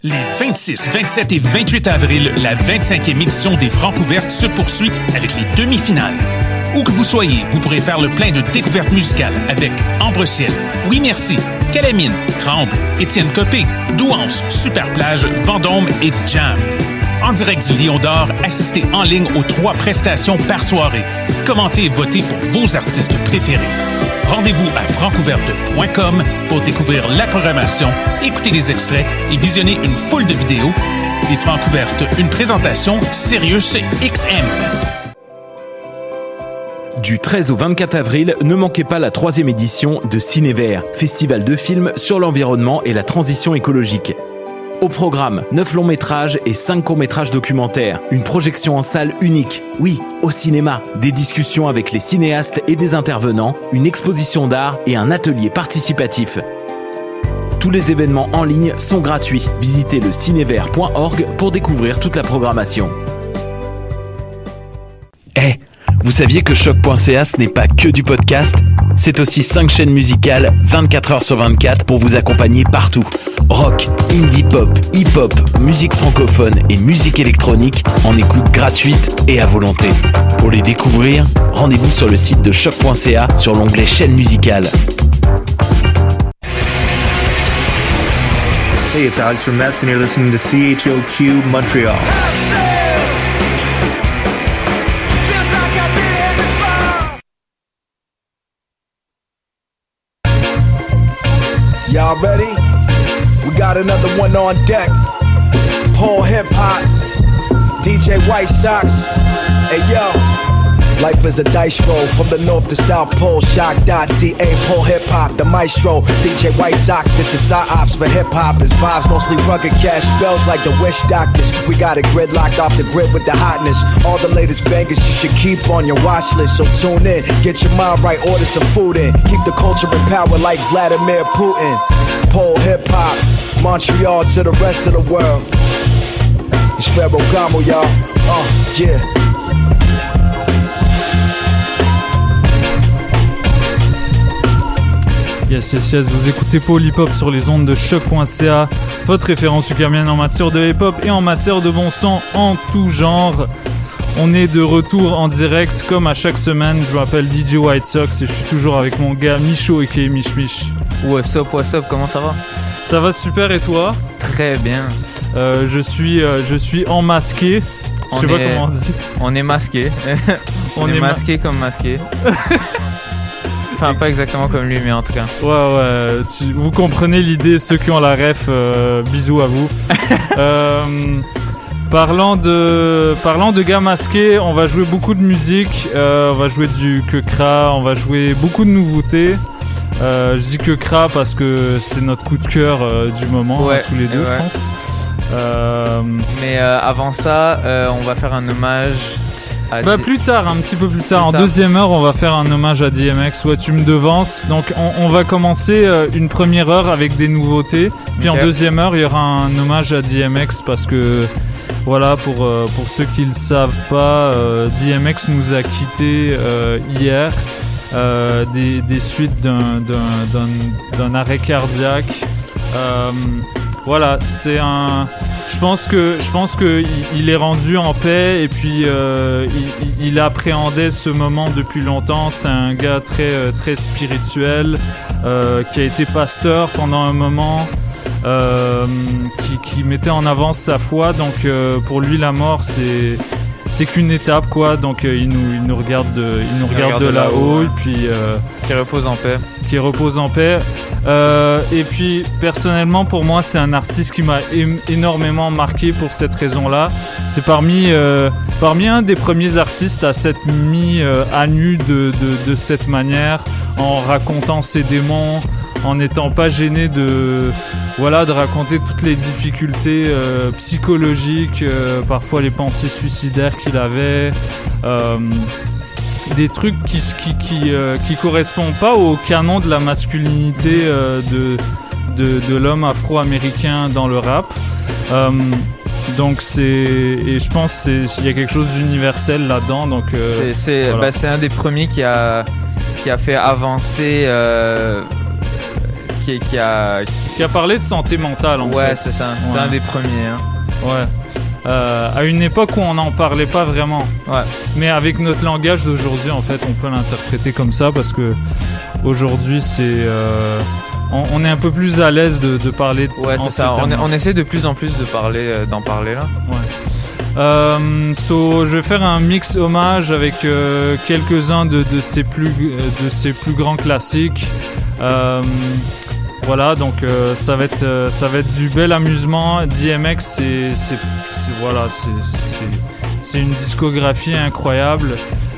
Les 26, 27 et 28 avril, la 25e édition des Francs ouvertes se poursuit avec les demi-finales. Où que vous soyez, vous pourrez faire le plein de découvertes musicales avec Ambre Ciel, Oui Merci, Calamine, Tremble, Étienne Copé, Douance, Superplage, Vendôme et Jam. En direct du Lion d'Or, assistez en ligne aux 3 prestations par soirée. Commentez et votez pour vos artistes préférés. Rendez-vous à francouverte.com pour découvrir la programmation, écouter des extraits et visionner une foule de vidéos. Les Francs ouvertes, une présentation Sirius XM. Du 13 au 24 avril, ne manquez pas la 3e édition de Cinévert, festival de films sur l'environnement et la transition écologique. Au programme, 9 longs métrages et 5 courts métrages documentaires. Une projection en salle unique. Oui, au cinéma. Des discussions avec les cinéastes et des intervenants, une exposition d'art et un atelier participatif. Tous les événements en ligne sont gratuits. Visitez le cinévert.org pour découvrir toute la programmation. Vous saviez que choc.ca ce n'est pas que du podcast ? C'est aussi 5 chaînes musicales 24 heures sur 24 pour vous accompagner partout. Rock, indie pop, hip-hop, musique francophone et musique électronique en écoute gratuite et à volonté. Pour les découvrir, rendez-vous sur le site de choc.ca sur l'onglet chaîne musicale. Hey, it's Alex from Mets and you're listening to CHOQ Montreal. Y'all ready? We got another one on deck. Paul Hip Hop, DJ White Sox. Hey yo, life is a dice roll from the north to south pole. Shock.ca, Paul Hip Hop, the maestro. DJ White Sox, this is psyops for hip hop. It's vibes, mostly rugged cash spells like the wish doctors. We got it gridlocked off the grid with the hotness. All the latest bangers you should keep on your watch list. So tune in, get your mind right, order some food in. Keep the culture in power like Vladimir Putin. Pole Hip Hop, Montreal to the rest of the world. It's Ferragamo, y'all. Yeah. Yes, vous écoutez Paul Hip Hop sur les ondes de choc.ca, votre référence ukrainienne en matière de hip hop et en matière de bon son en tout genre. On est de retour en direct comme à chaque semaine. Je m'appelle DJ White Sox et je suis toujours avec mon gars Micho et Mich Mich. What's up, comment ça va? Ça va super et toi? Très bien. Je suis enmasqué. Je sais pas comment on dit. On est masqué. on est masqué comme masqué. Enfin, pas exactement comme lui, mais en tout cas. Ouais, vous comprenez l'idée, ceux qui ont la ref, bisous à vous. Parlant de gars masqués, on va jouer beaucoup de musique, on va jouer du Kekra, on va jouer beaucoup de nouveautés. Je dis Kekra parce que c'est notre coup de cœur du moment, ouais, tous les deux, ouais. Je pense. Mais avant ça, on va faire un hommage. Plus tard, un petit peu plus tard. En deuxième heure, on va faire un hommage à DMX. Ouais, tu me devances. Donc, on va commencer une première heure avec des nouveautés. Puis en deuxième heure, il y aura un hommage à DMX parce que, voilà, pour ceux qui le savent pas, DMX nous a quittés hier des suites d'un arrêt cardiaque. Voilà, c'est un. Je pense que il est rendu en paix et puis il appréhendait ce moment depuis longtemps. C'était un gars très très spirituel qui a été pasteur pendant un moment, qui mettait en avant sa foi. Donc pour lui la mort c'est qu'une étape quoi. Donc il nous regarde de là-haut et puis qui repose en paix. Et puis personnellement pour moi c'est un artiste qui m'a énormément marqué pour cette raison-là. C'est parmi un des premiers artistes à s'être mis à nu de cette manière, en racontant ses démons, en n'étant pas gêné de raconter toutes les difficultés psychologiques, parfois les pensées suicidaires qu'il avait. Des trucs qui correspondent pas au canon de la masculinité de l'homme afro-américain dans le rap. Donc je pense qu'il y a quelque chose d'universel là-dedans. Donc c'est un des premiers qui a fait avancer qui a parlé de santé mentale en fait. Ouais, c'est ça. C'est un des premiers. Ouais. À une époque où on n'en parlait pas vraiment. Ouais. Mais avec notre langage d'aujourd'hui, en fait, on peut l'interpréter comme ça parce que aujourd'hui, c'est on est un peu plus à l'aise de parler de ouais, c'est ça. On essaie de plus en plus d'en parler là. Ouais. Je vais faire un mix hommage avec quelques-uns de ses plus grands classiques. Voilà, donc ça va être du bel amusement. DMX, c'est une discographie incroyable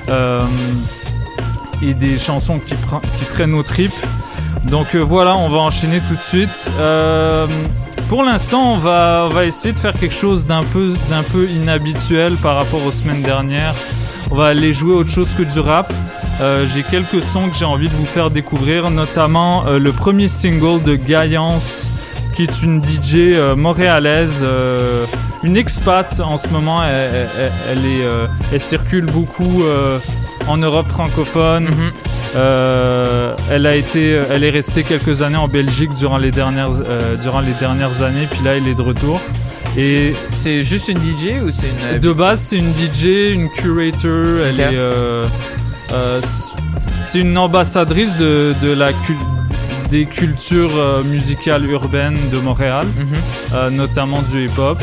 et des chansons qui prennent aux tripes. Donc voilà, on va enchaîner tout de suite. Pour l'instant, on va essayer de faire quelque chose d'un peu inhabituel par rapport aux semaines dernières. On va aller jouer autre chose que du rap. J'ai quelques sons que j'ai envie de vous faire découvrir, notamment le premier single de Gaillance, qui est une DJ montréalaise, une expat en ce moment. Elle circule beaucoup en Europe francophone. Elle est restée quelques années en Belgique durant les dernières années, puis là elle est de retour. Et c'est juste une DJ ou c'est une... De base c'est une DJ, une curator. Elle est c'est une ambassadrice des cultures musicales urbaines de Montréal, notamment du hip-hop.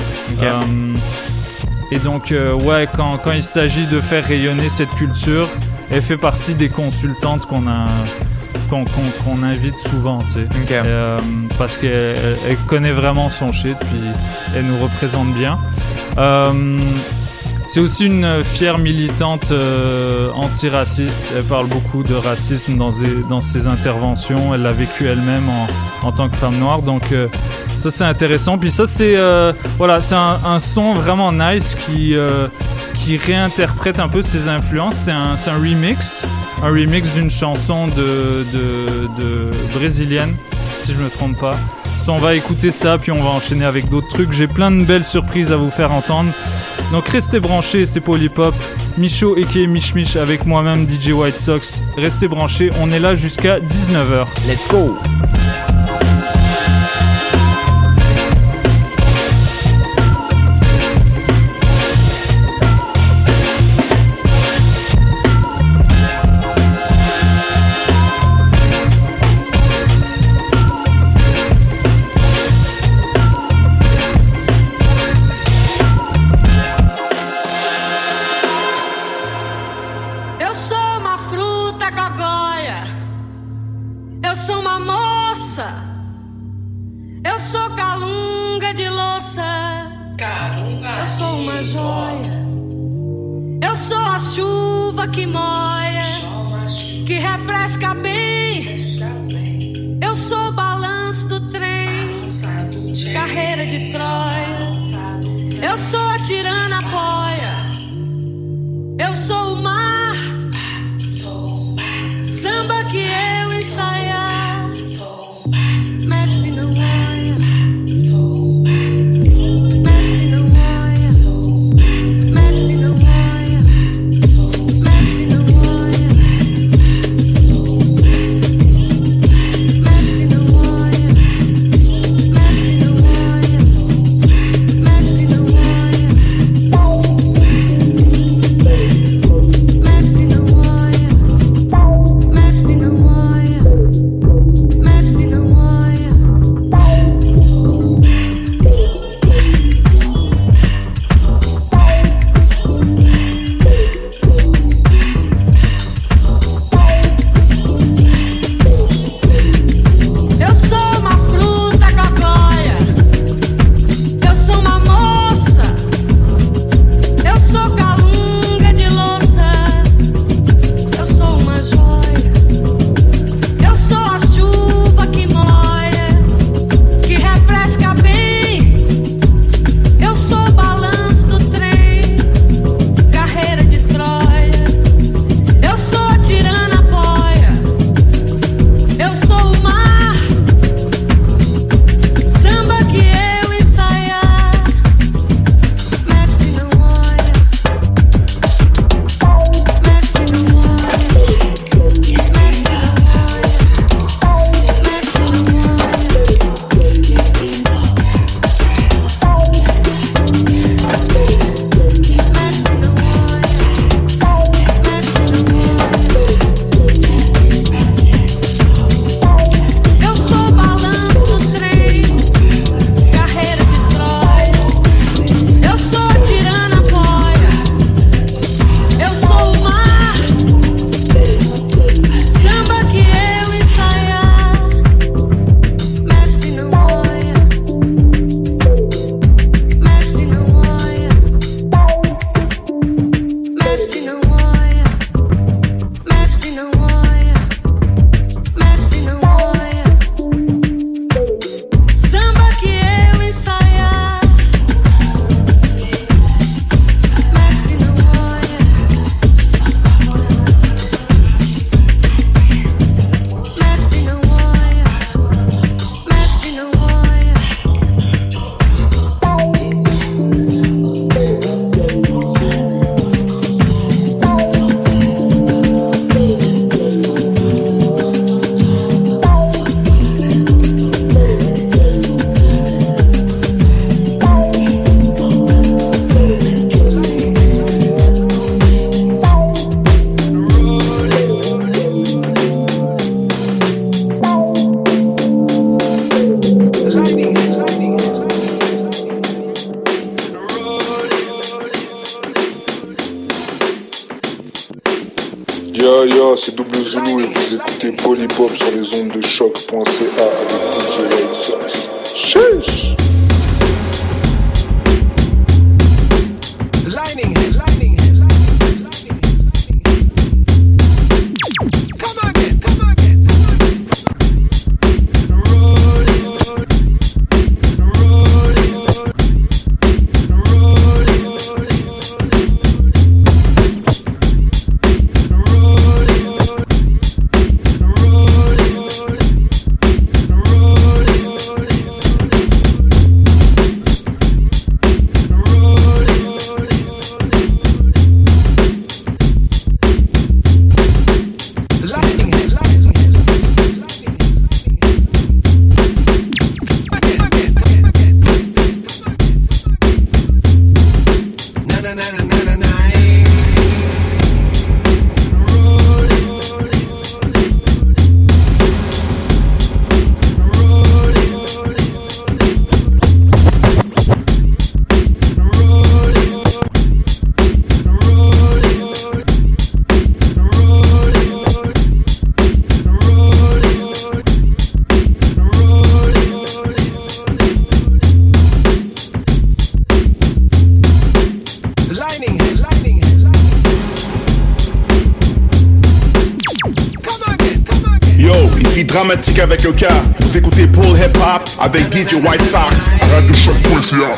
Et donc quand il s'agit de faire rayonner cette culture, elle fait partie des consultantes qu'on invite souvent, tu sais. Parce qu'elle connaît vraiment son shit, puis elle nous représente bien. C'est aussi une fière militante antiraciste. Elle parle beaucoup de racisme dans ses interventions. Elle l'a vécu elle-même en tant que femme noire. Donc ça c'est intéressant. Puis ça c'est c'est un son vraiment nice qui réinterprète un peu ses influences. C'est un remix d'une chanson de brésilienne, si je me trompe pas. On va écouter ça, puis on va enchaîner avec d'autres trucs. J'ai plein de belles surprises à vous faire entendre. Donc restez branchés, c'est Polypop. Michaud aka Mich Mich avec moi-même DJ White Sox. Restez branchés, on est là jusqu'à 19h. Let's go! Que moia, que refresca bem. Eu sou o balanço do trem, carreira de Troia. Eu sou a tirana poia, eu sou o mar, samba que eu ensaiar. Mestre não olha, mestre não olha, mestre não olha. Mestre não olha. c'est Double Zulu et vous écoutez Polypop sur les ondes de choc.ca avec DJ White Sox. Sheesh. Dramatique avec le cas, vous écoutez Paul Hip Hop avec DJ White Sox. Radio Choc.ca.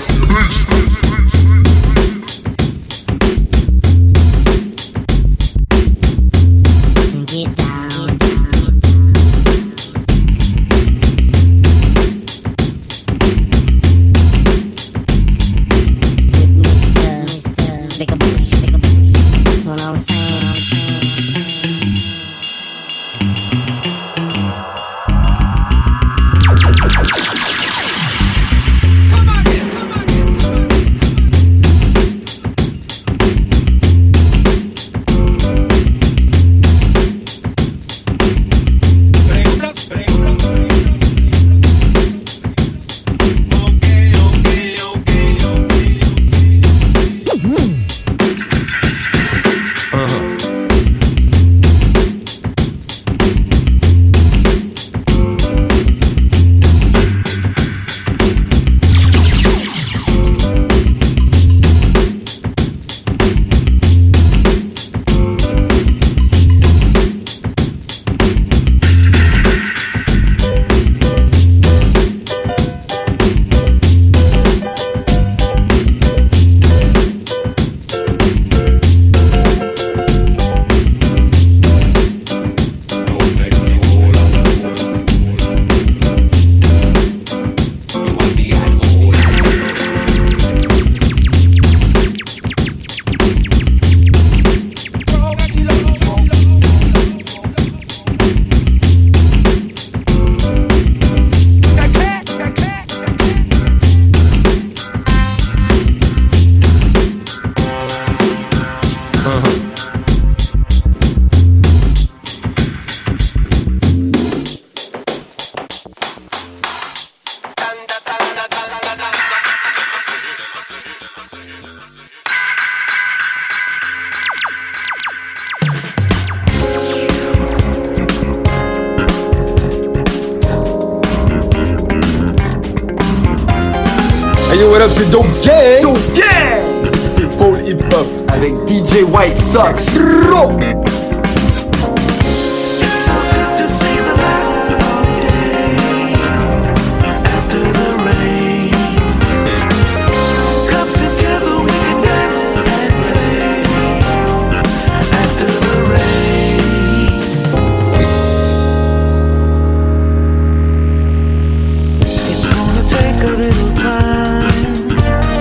Hey yo, what up, c'est Dope Gang! Dope Gang! C'est Paul Hip Hop avec DJ White Sox.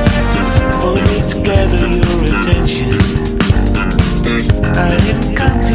I didn't come to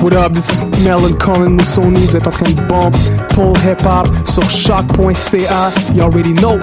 What up, this is Melon Colin Moussoni, vous êtes en train de bump Paul Hip Hop sur choc.ca, you already know.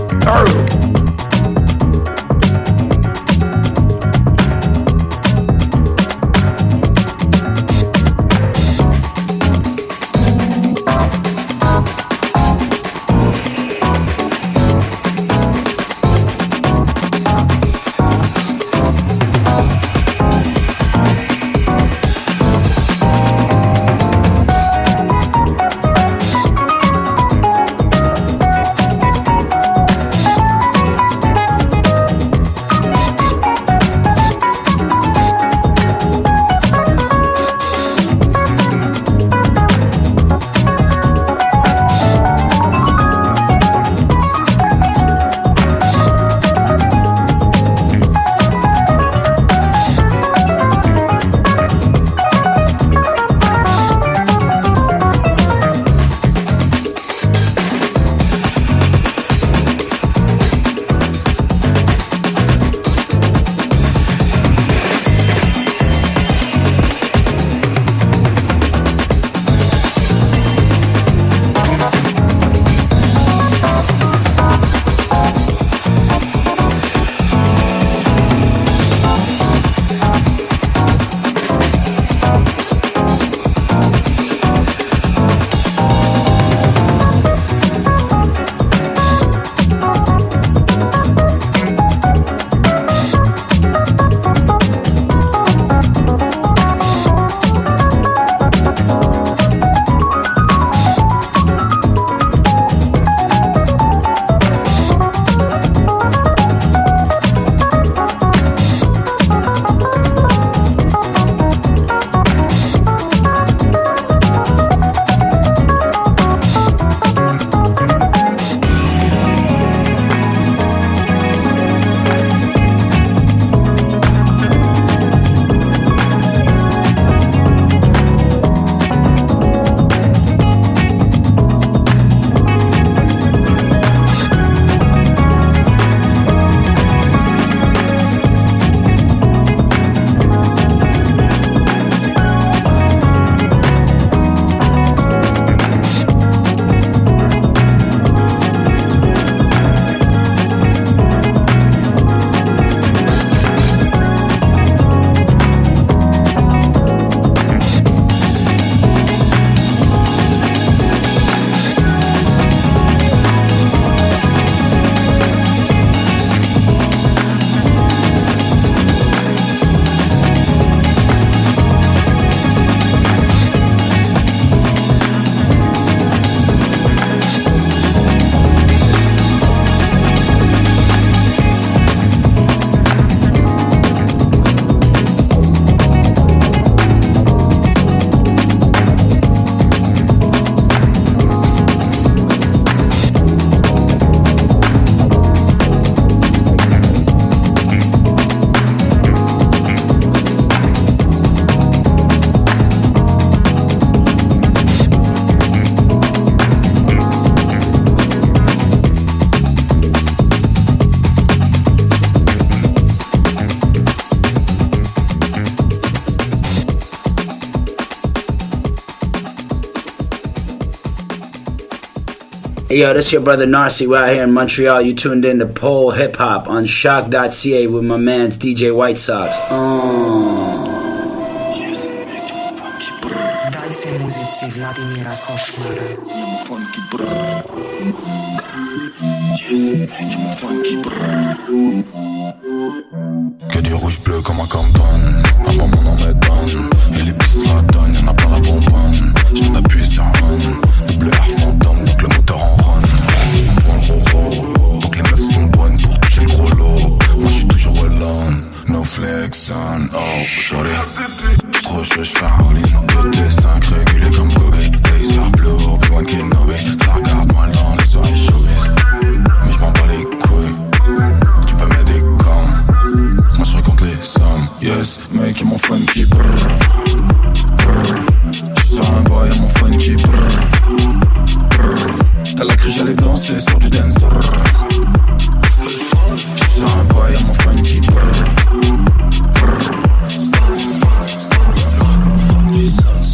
Hey, yo, this is your brother Narcy. We're out here in Montreal. You tuned in to Pole Hip Hop on shock.ca with my man's DJ White Sox. Daj se muzici Vladimira Košmara. Que du rouge bleu comme un Compton. Avant mon nom m'étonne. Et les pistes la donnent, y'en a plein la bonbonne. Je t'appuie sur un. Le bleu air fantôme, donc le moteur en run. C'est bon le roro. Donc les meufs sont bonnes pour toucher le gros lot. Moi j'suis toujours alone. No flex on, oh shorty. J't'rois chaud, j'fais un all-in. 2T5 régulé comme Kobe. Laser bleu, Obi-Wan Kenobi. Ça regarde mal dans les soirées showbiz. Mais j'm'en bats les couilles. Tu peux m'aider comme. Moi j'recompte les sommes. Yes, mec, y'a mon funky brrr. Tu sors un boy, y'a mon funky brrr. Elle a cru j'allais danser sur du dance. Tu sors un boy, y'a mon funky brrr.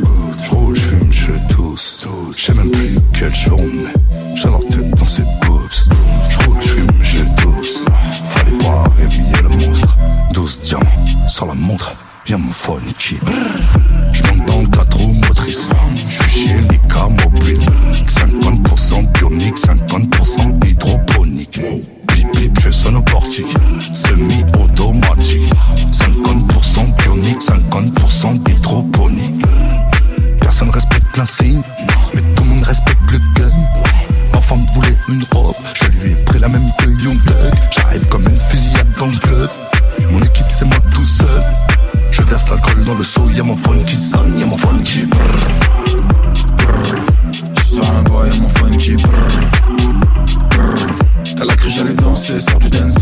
J'roule, j'fume, je tousse. J'sais même plus quel jour on est. J'ai leur tête dans ses boobs. J'roule, j'fume, je tousse. Fallait pas réveiller le monstre. 12 diamants sur la montre. Viens mon funky. J'monte dans le 4 roues motrices. J'suis chez les cas mobiles. 50% bionique, 50% hydroponique. Bip bip, je sonne au portique. Semi-automatique. 50% bionique, 50% hydroponique. Personne respecte l'insigne, mais tout le monde respecte le gun. Ma femme voulait une robe, je lui ai pris la même que Young Thug. J'arrive comme une fusillade dans le club. Mon équipe c'est moi tout seul. Je verse l'alcool dans le seau, y'a mon phone qui sonne, y'a mon phone qui brrr, brrr. Sur un bois, y'a mon phone qui brrr, brrr. Elle a cru j'allais danser sur du dance.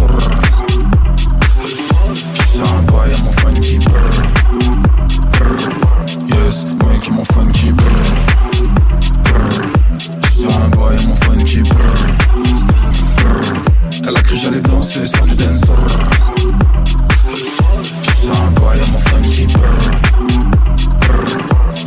Sur un bois, y'a mon phone qui brrr, brrr. Yes, moi qui mon phone qui brrr, brrr. Sur un bois, y'a mon phone qui brrr, brrr. Elle a cru j'allais danser sur du dance. Sur un bois, y'a mon phone qui brrr, brrr.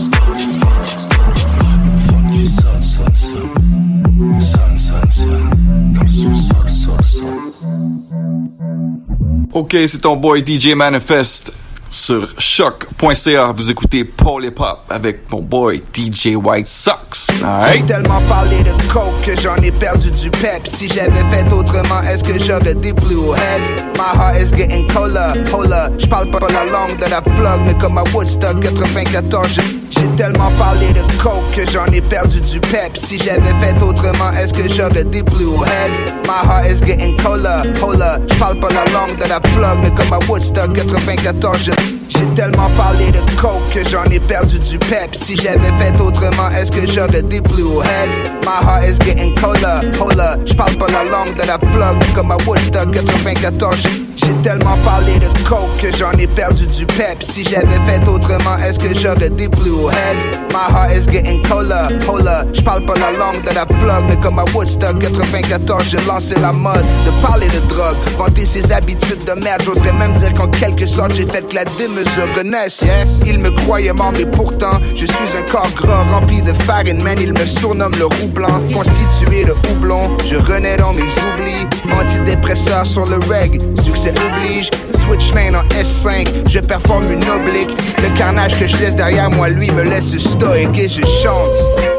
Funky son, son, son. Son, son, son. Dans le sous-sol, sol, sol. Ok, c'est ton boy DJ Manifest sur choc.ca. Vous écoutez Paul Hip Hop avec mon boy DJ White Sox. J'ai tellement parlé de coke que j'en ai perdu du pep. Si j'avais fait autrement, est-ce que j'aurais des blue heads? My heart is getting colder, hola. J'parle pas la langue de la plug, mais comme à Woodstock 94. J'ai tellement parlé de coke que j'en ai perdu du pep. Si j'avais fait autrement, est-ce que j'aurais des blue heads? My heart is getting colder, hola. J'parle pas la langue de la plug, mais comme à Woodstock 94. J'ai tellement parlé de coke que j'en ai perdu du pep. Si j'avais fait autrement, est-ce que j'aurais des blue heads? My heart is getting colder, hola. J'parle pas la langue de la plug, mais comme à Woodstock 94. J'ai tellement parlé de coke que j'en ai perdu du pep. Si j'avais fait autrement, est-ce que j'aurais des blue heads? My heart is getting colder, hola. J'parle pas la langue de la plug, mais comme à Woodstock 94, j'ai lancé la mode de parler de drogue, vanter ses habitudes de merde. J'oserais même dire qu'en quelque sorte, j'ai fait que la démesure renaisse. Yes, il me croyait mort, mais pourtant, je suis un corps gras rempli de farine. Man, il me surnomme le roux blanc, constitué de houblon. Je renais dans mes oublis, antidépresseur sur le reg. Succès oblige, switch lane en S5, je performe une oblique. Le carnage que je laisse derrière moi, lui, me laisse stoïque et je chante.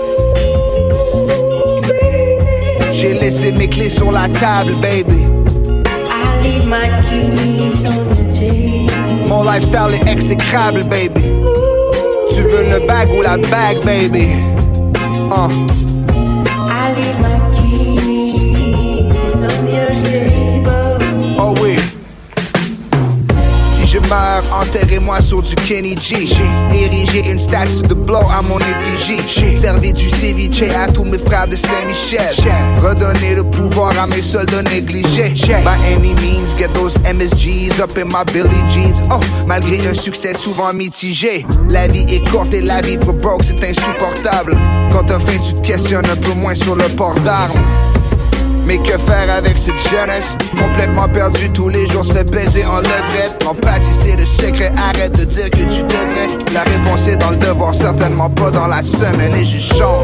J'ai laissé mes clés sur la table, baby. I leave my keys on the table. Mon lifestyle est exécrable, baby. Tu veux le bag ou la bague, baby? I leave my keys on your table. Oh oui. Si je meurs, enterrez-moi sur du Kenny G. J'ai érigé une statue de Blow à mon effigie. J'ai servi du ceviche à tous mes frères de Saint-Michel. Redonner le pouvoir à mes soldats négligés. By any means, get those MSGs up in my Billie Jeans. Oh, malgré un succès souvent mitigé. La vie est courte et la vivre broke, c'est insupportable. Quand t'as faim, tu te questionnes un peu moins sur le port d'armes. Mais que faire avec cette jeunesse? Complètement perdu, tous les jours se fait baiser en levrette. L'empathie c'est le secret, arrête de dire que tu devrais. La réponse est dans le devoir, certainement pas dans la semaine. Et je chante.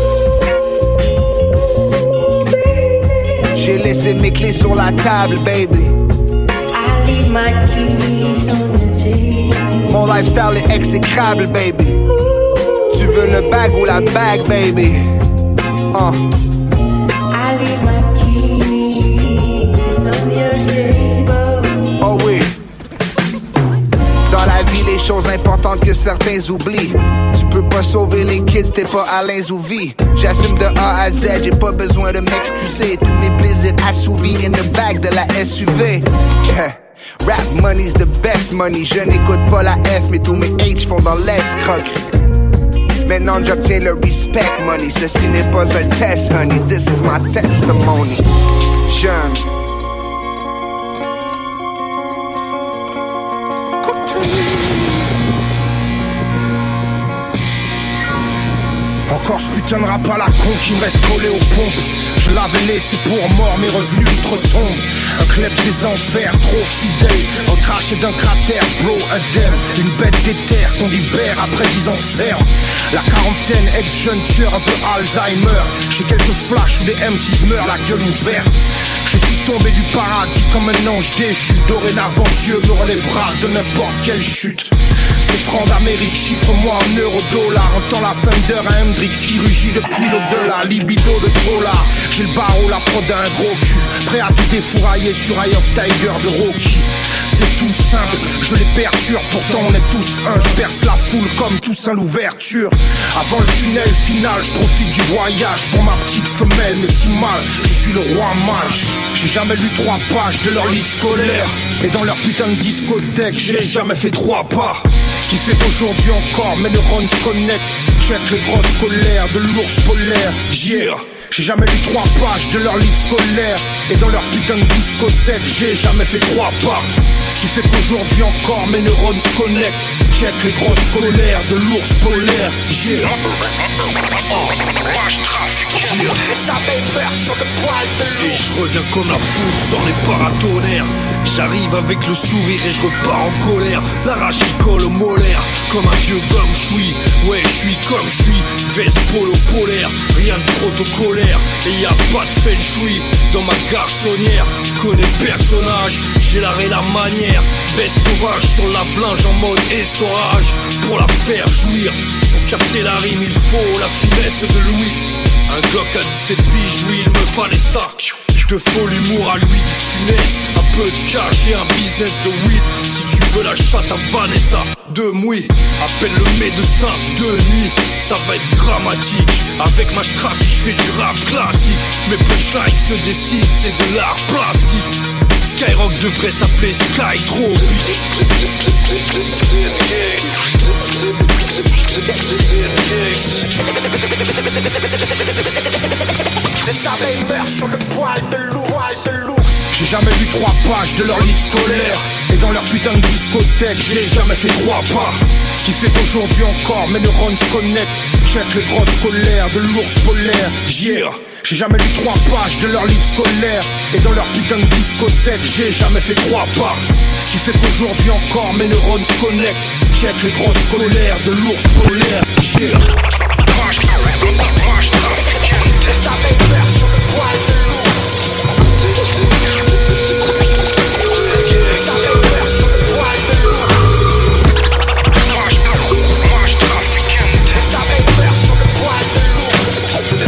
J'ai laissé mes clés sur la table, baby. I leave my keys on the table. Mon lifestyle est exécrable, baby. Tu veux le bag ou la bague, baby? I leave my oh oui. Dans la vie, les choses importantes que certains oublient. Tu peux pas sauver les kids, t'es pas Alain Zouvi. J'assume de A à Z, j'ai pas besoin de m'excuser. Tous mes plaisirs assouvis in the bag de la SUV. Yeah. Rap money's the best money. Je n'écoute pas la F, mais tous mes H font dans l'escroquerie. Maintenant j'obtiens le respect money. Ceci n'est pas un test, honey. This is my testimony. Jeune. encore ce putain de rap à la con qui me reste collé aux pompes. Je l'avais laissé pour mort, mes revenus d'outre-tombe. Un club des enfers, trop fidèle. Recraché d'un cratère, bro, indemne. Une bête d'éther qu'on libère après 10 ans ferme. La quarantaine, ex-jeune tueur, un peu Alzheimer. J'ai quelques flashs où des M6 meurent, la gueule ouverte. Je suis tombé du paradis comme un ange déchu. Dorénavant, Dieu me relèvera de n'importe quelle chute. Ces francs d'Amérique, chiffre-moi en euro-dollar. Entends la thunder à Hendrix qui rugit depuis l'au-delà. Libido de Tola, j'ai le barreau, la prod d'un gros cul. Prêt à tout défourailler sur Eye of Tiger de Rocky. C'est tout simple, je les perturbe, pourtant on est tous un. Je perce la foule comme Toussaint l'ouverture. Avant le tunnel final, je profite du voyage. Pour ma petite femelle, mais si mal, je suis le roi mage. J'ai jamais lu 3 pages de leur livre scolaire. Et dans leur putain de discothèque, j'ai jamais fait 3 pas. Ce qui fait qu'aujourd'hui encore, mes neurones se connectent. Check les grosses colères de l'ours polaire. Yeah. J'ai jamais lu 3 pages de leur livre scolaire. Et dans leur putain de discothèque, j'ai jamais fait 3 pas. Ce qui fait qu'aujourd'hui encore, mes neurones se connectent. Check les grosses colères de l'ours polaire. Yeah. Rage trafiquant. Et je reviens comme la foule sans les paratonnerres. J'arrive avec le sourire et je repars en colère. La rage qui colle au molaire, comme un vieux gomme choui. Ouais, je suis comme je suis, veste polo polaire. Rien de protocolaire, et y a pas de feng shui. Dans ma garçonnière, je connais le personnage. J'ai l'art et la manière, baisse sauvage sur la flingue en mode essorage. Pour la faire jouir, pour capter la rime il faut la finesse de Louis. Un Glock à 17 piges, oui il me fallait ça. De faux l'humour à lui du funeste. Un peu de cash et un business de weed. Si tu veux la chatte à Vanessa de Mouy, appelle le médecin de nuit. Ça va être dramatique. Avec ma trafic, je fais du rap classique. Mes punchlines se décident, c'est de l'art plastique. Skyrock devrait s'appeler Skytropic. Les abeilles meurent sur le poil de l'ours. J'ai jamais lu 3 pages de leur livre scolaire. Et dans leur putain de discothèque, j'ai jamais fait 3 pas. Ce qui fait qu'aujourd'hui encore, mes neurones se connectent. Check les grosses colères de l'ours polaire. Yeah. J'ai jamais lu 3 pages de leur livre scolaire. Et dans leur putain de discothèque, j'ai jamais fait 3 pas. Ce qui fait qu'aujourd'hui encore, mes neurones se connectent. Check les grosses colères de l'ours polaire. Yeah. Les abeilles meurent sur le poil de l'ours. Les abeilles meurent sur le poil de l'ours. Les abeilles meurent sur le poil de l'ours.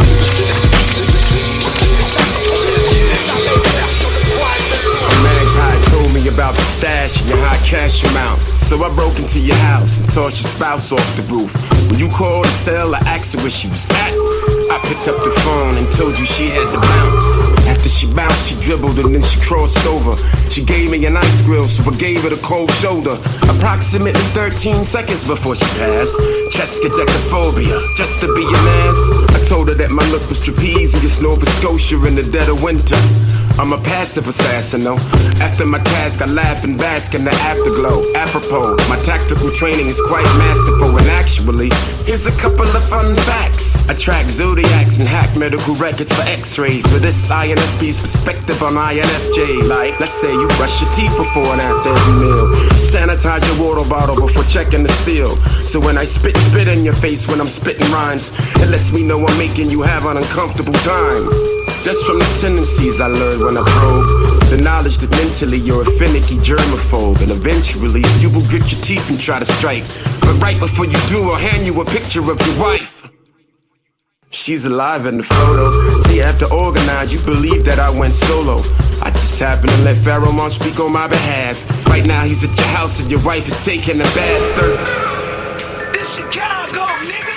A magpie told me about the stash and your high cash amount. So I broke into your house and tossed your spouse off the roof. When you called to sell, I asked her where she was at. I picked up the phone and told you she had to bounce. After she bounced, she dribbled and then she crossed over. She gave me an ice grill, so I gave her the cold shoulder. Approximately 13 seconds before she passed. Chescadecaphobia, just to be an ass. I told her that my look was trapezius, Nova Scotia in the dead of winter. I'm a passive assassin, though. After my task, I laugh and bask in the afterglow. Apropos, my tactical training is quite masterful. And actually, here's a couple of fun facts. I track zodiacs and hack medical records for x-rays. For this INFP's perspective on INFJs. Like, let's say you brush your teeth before and after every meal. Sanitize your water bottle before checking the seal. So when I spit in your face when I'm spitting rhymes, it lets me know I'm making you have an uncomfortable time. Just from the tendencies I learned when I probe. The knowledge that mentally you're a finicky germaphobe. And eventually you will grit your teeth and try to strike. But right before you do, I'll hand you a picture of your wife. She's alive in the photo. See, after organize, you believe that I went solo. I just happened to let Pharaoh Monch speak on my behalf. Right now he's at your house and your wife is taking a bath. This Chicago, nigga.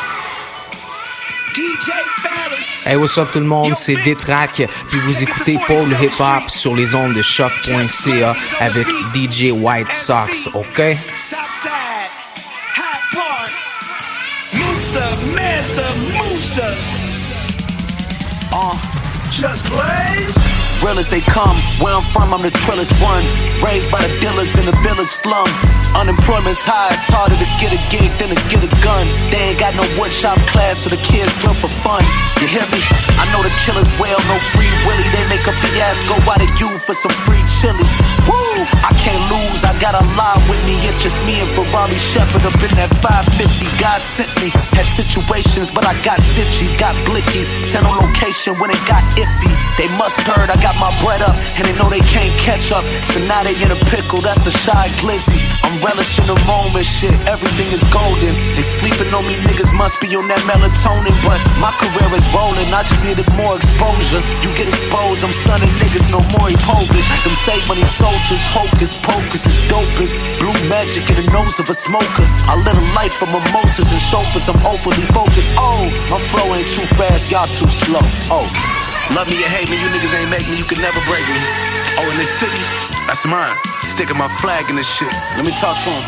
DJ Ferris. Hey, what's up tout le monde, c'est Détrac, puis vous écoutez Paul Hip Hop sur les ondes de choc.ca avec DJ White Sox, ok? Southside, High Park, Musa, Mesa, Musa. Just Blaze. real as they come. Where I'm from, I'm the trillest one. Raised by the dealers in the village slum. Unemployment's high, it's harder to get a gig than to get a gun. They ain't got no woodshop class, so the kids drill for fun. You hear me? I know the killers well, no free willy. They make a fiasco out of you for some free chili. Woo! I can't lose, I got a lot with me. It's just me and Ferrari Shepherd up in that 550. God sent me, had situations, but I got sitchy. Got blickies, sent on location when it got iffy. They must heard I got my bread up, and they know they can't catch up. So now they in a pickle, that's a shy glizzy. I'm relishing the moment, shit, everything is golden. They sleeping on me, niggas must be on that melatonin. But my career is rolling, I just needed more exposure. You get exposed, I'm sunning niggas, no more Polish. Them save money soldiers, hocus pocus is dopest. Blue magic in the nose of a smoker. I live a life of mimosas and chauffeurs, I'm overly focused. Oh, my flow ain't too fast, y'all too slow. Oh, love me or hate me, you niggas ain't make me, you can never break me. Oh, in this city, that's mine. Sticking my flag in this shit. Let me talk to him.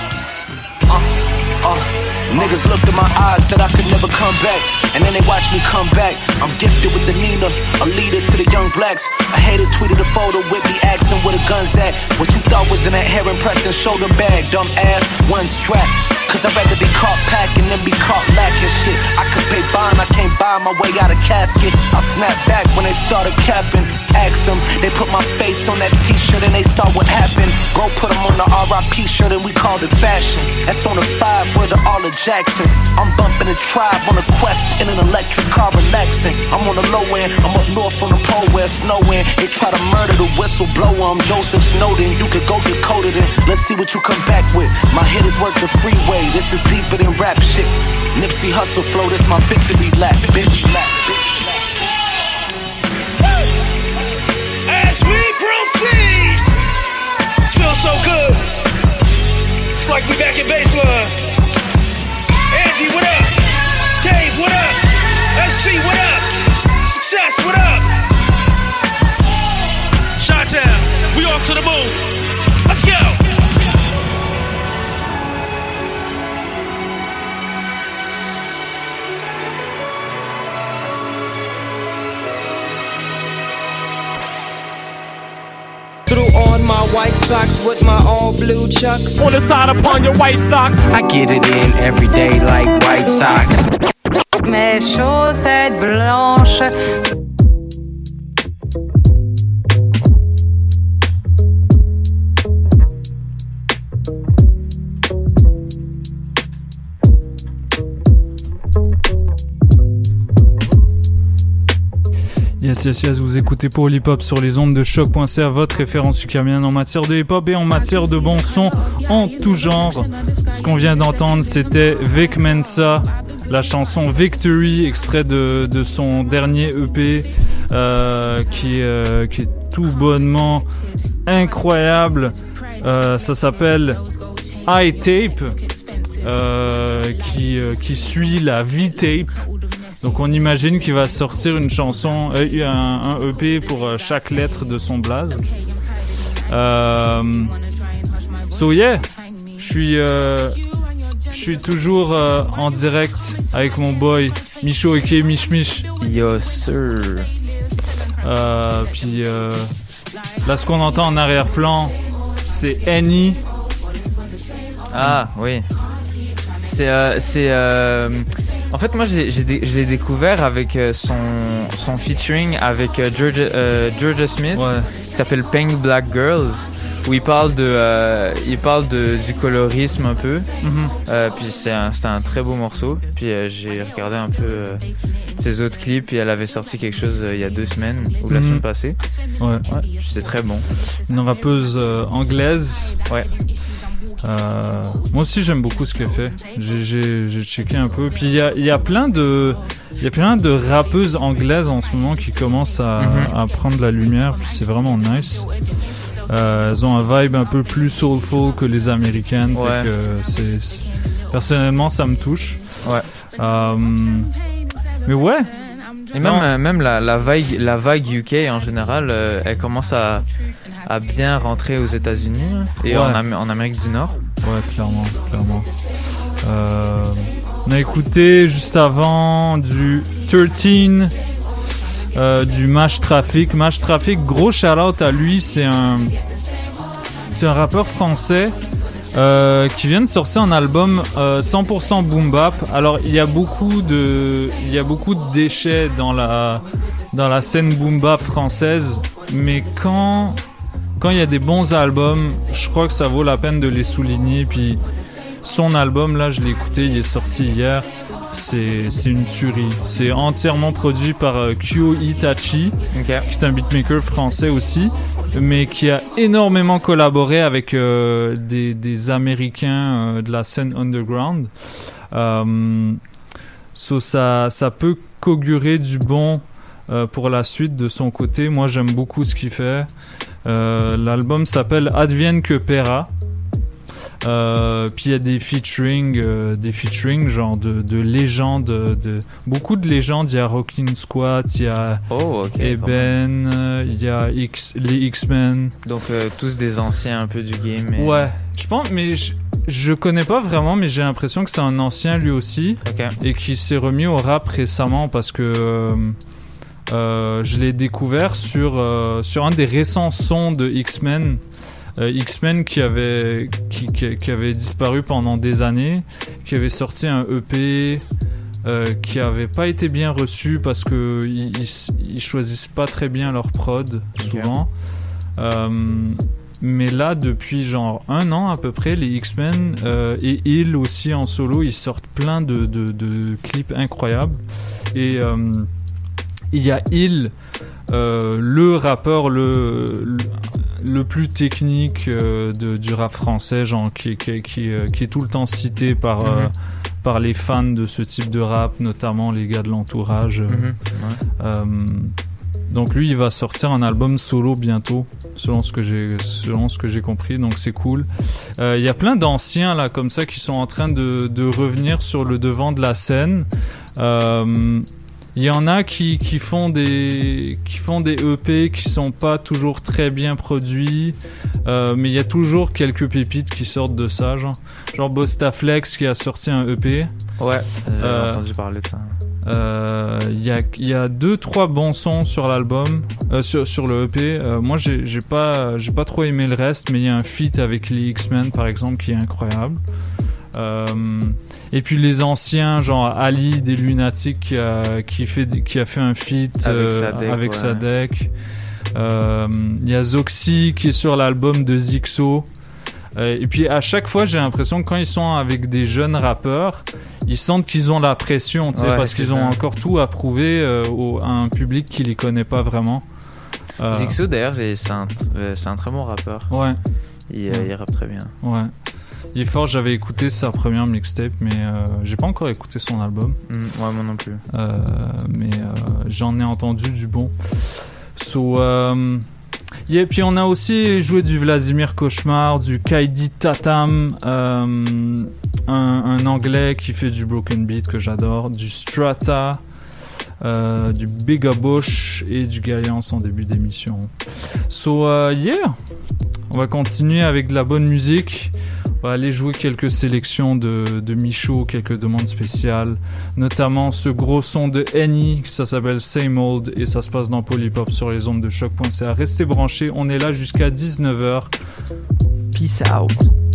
Niggas looked in my eyes, said I could never come back. And then they watched me come back. I'm gifted with the Nina, a leader to the young blacks. I hated tweeted a photo with me asking where the gun's at. What you thought was in that Heron Preston shoulder bag, dumb ass, one strap. Cause I'd rather be caught packing than be caught lacking shit. I could pay bond, I can't buy my way out of casket. I snapped back when they started capping. Ask them, they put my face on that t-shirt and they saw what happened. Bro put them on the RIP shirt and we called it fashion. That's on the 5 where the all the Jacksons. I'm bumping a tribe on a quest in an electric car relaxing. I'm on the low end, I'm up north on the pole where it's snowing. They try to murder the whistleblower, I'm Joseph Snowden. You could go get coded in, let's see what you come back with. My hit is worth the freeway, this is deeper than rap shit. Nipsey Hussle flow, this my victory lap, bitch. As we proceed, feels so good. It's like we back in baseline. Andy, what up? Dave, what up? SC, what up? Success, what up? Chi-Town, we off to the moon. Let's go. On my white socks with my all blue chucks. On the side upon your white socks. I get it in every day like white socks. Mes chaussettes blanches. Yes, vous écoutez pour l'hip-hop sur les ondes de choc.ca, votre référence ukrainienne en matière de hip-hop et en matière de bon son en tout genre. Ce qu'on vient d'entendre, c'était Vic Mensa, la chanson Victory, extrait de son dernier EP, qui est tout bonnement incroyable. Ça s'appelle I-Tape, qui suit la V-Tape. Donc on imagine qu'il va sortir une chanson, un EP pour chaque lettre de son blaze. So yeah, je suis toujours en direct avec mon boy Micho aka Mich Mich. Yo sir. Puis là ce qu'on entend en arrière-plan, c'est Annie. Ah oui. En fait, moi, je l'ai découvert avec son featuring avec Georgia Smith, ouais. Qui s'appelle Pink Black Girls, où il parle du colorisme un peu. Mm-hmm. Puis c'était un très beau morceau. Puis j'ai regardé un peu ses autres clips, et elle avait sorti quelque chose il y a 2 semaines ou la semaine passée. Ouais. C'est très bon. Une rappeuse anglaise. Ouais. Moi aussi j'aime beaucoup ce qu'elle fait. J'ai checké un peu. Puis il y a plein de rappeuses anglaises en ce moment qui commencent à prendre la lumière. Puis c'est vraiment nice. Elles ont un vibe un peu plus soulful que les américaines. Ouais. Fait que personnellement ça me touche. Ouais. Mais ouais. Et même la vague UK en général, elle commence à bien rentrer aux États-Unis et en Amérique du Nord. Ouais, clairement. On a écouté juste avant du 13 du Mash Traffic. Mash Traffic, gros shout-out à lui, c'est un rappeur français qui vient de sortir un album 100% boom bap. Alors il y a beaucoup de déchets dans la scène boom bap française, mais quand il y a des bons albums, je crois que ça vaut la peine de les souligner. Puis son album là, je l'ai écouté, il est sorti hier. C'est une tuerie. C'est entièrement produit par Kyo Itachi, qui est un beatmaker français aussi, mais qui a énormément collaboré avec des Américains de la scène underground. Ça peut qu'augurer du bon pour la suite de son côté. Moi, j'aime beaucoup ce qu'il fait. L'album s'appelle Advienne que Pera. Puis il y a des featuring genre de légendes, beaucoup de légendes. Il y a Rockin' Squat, il y a Eben, il y a les X-Men. Donc tous des anciens un peu du game. Et... Ouais, je pense, mais je connais pas vraiment, mais j'ai l'impression que c'est un ancien lui aussi, et qui s'est remis au rap récemment parce que je l'ai découvert sur un des récents sons de X-Men. X-Men qui avait disparu pendant des années, qui avait sorti un EP qui avait pas été bien reçu parce que ils choisissent pas très bien leur prod souvent. Mais là, depuis genre 1 an à peu près, les X-Men et Hill aussi en solo, ils sortent plein de clips incroyables. Et il y a Hill, le rappeur le plus technique du rap français, genre qui est tout le temps cité par les fans de ce type de rap, notamment les gars de l'entourage. Donc lui, il va sortir un album solo bientôt, selon ce que j'ai compris, donc c'est cool. Il y a plein d'anciens là comme ça qui sont en train de revenir sur le devant de la scène. Il y en a qui font des EP qui sont pas toujours très bien produits, mais il y a toujours quelques pépites qui sortent de ça, genre Bostaflex qui a sorti un EP. Ouais, j'ai entendu parler de ça. Il y a 2-3 bons sons sur l'album, sur le EP. Moi j'ai pas trop aimé le reste, mais il y a un feat avec les X-Men par exemple qui est incroyable. Et puis les anciens, genre Ali des Lunatiques qui a fait un feat avec Sadek. Il y a Zoxy qui est sur l'album de Zixo. Et puis à chaque fois, j'ai l'impression que quand ils sont avec des jeunes rappeurs, ils sentent qu'ils ont la pression, parce qu'ils ont encore tout à prouver à un public qui les connaît pas vraiment. Zixo d'ailleurs, c'est un très bon rappeur. Ouais. Il rappe très bien. Ouais. Il est fort, j'avais écouté sa première mixtape, mais j'ai pas encore écouté son album. Ouais, moi non plus. Mais j'en ai entendu du bon. Et puis on a aussi joué du Vladimir Cauchemar, du Kaidi Tatam, un anglais qui fait du broken beat que j'adore, du Strata, du Big Bush et du Gaillance en début d'émission. On va continuer avec de la bonne musique. On va aller jouer quelques sélections de Michaud, quelques demandes spéciales, notamment ce gros son de Annie, ça s'appelle Same Old et ça se passe dans Polypop sur les ondes de choc.ca. Restez branchés, on est là jusqu'à 19h. Peace out.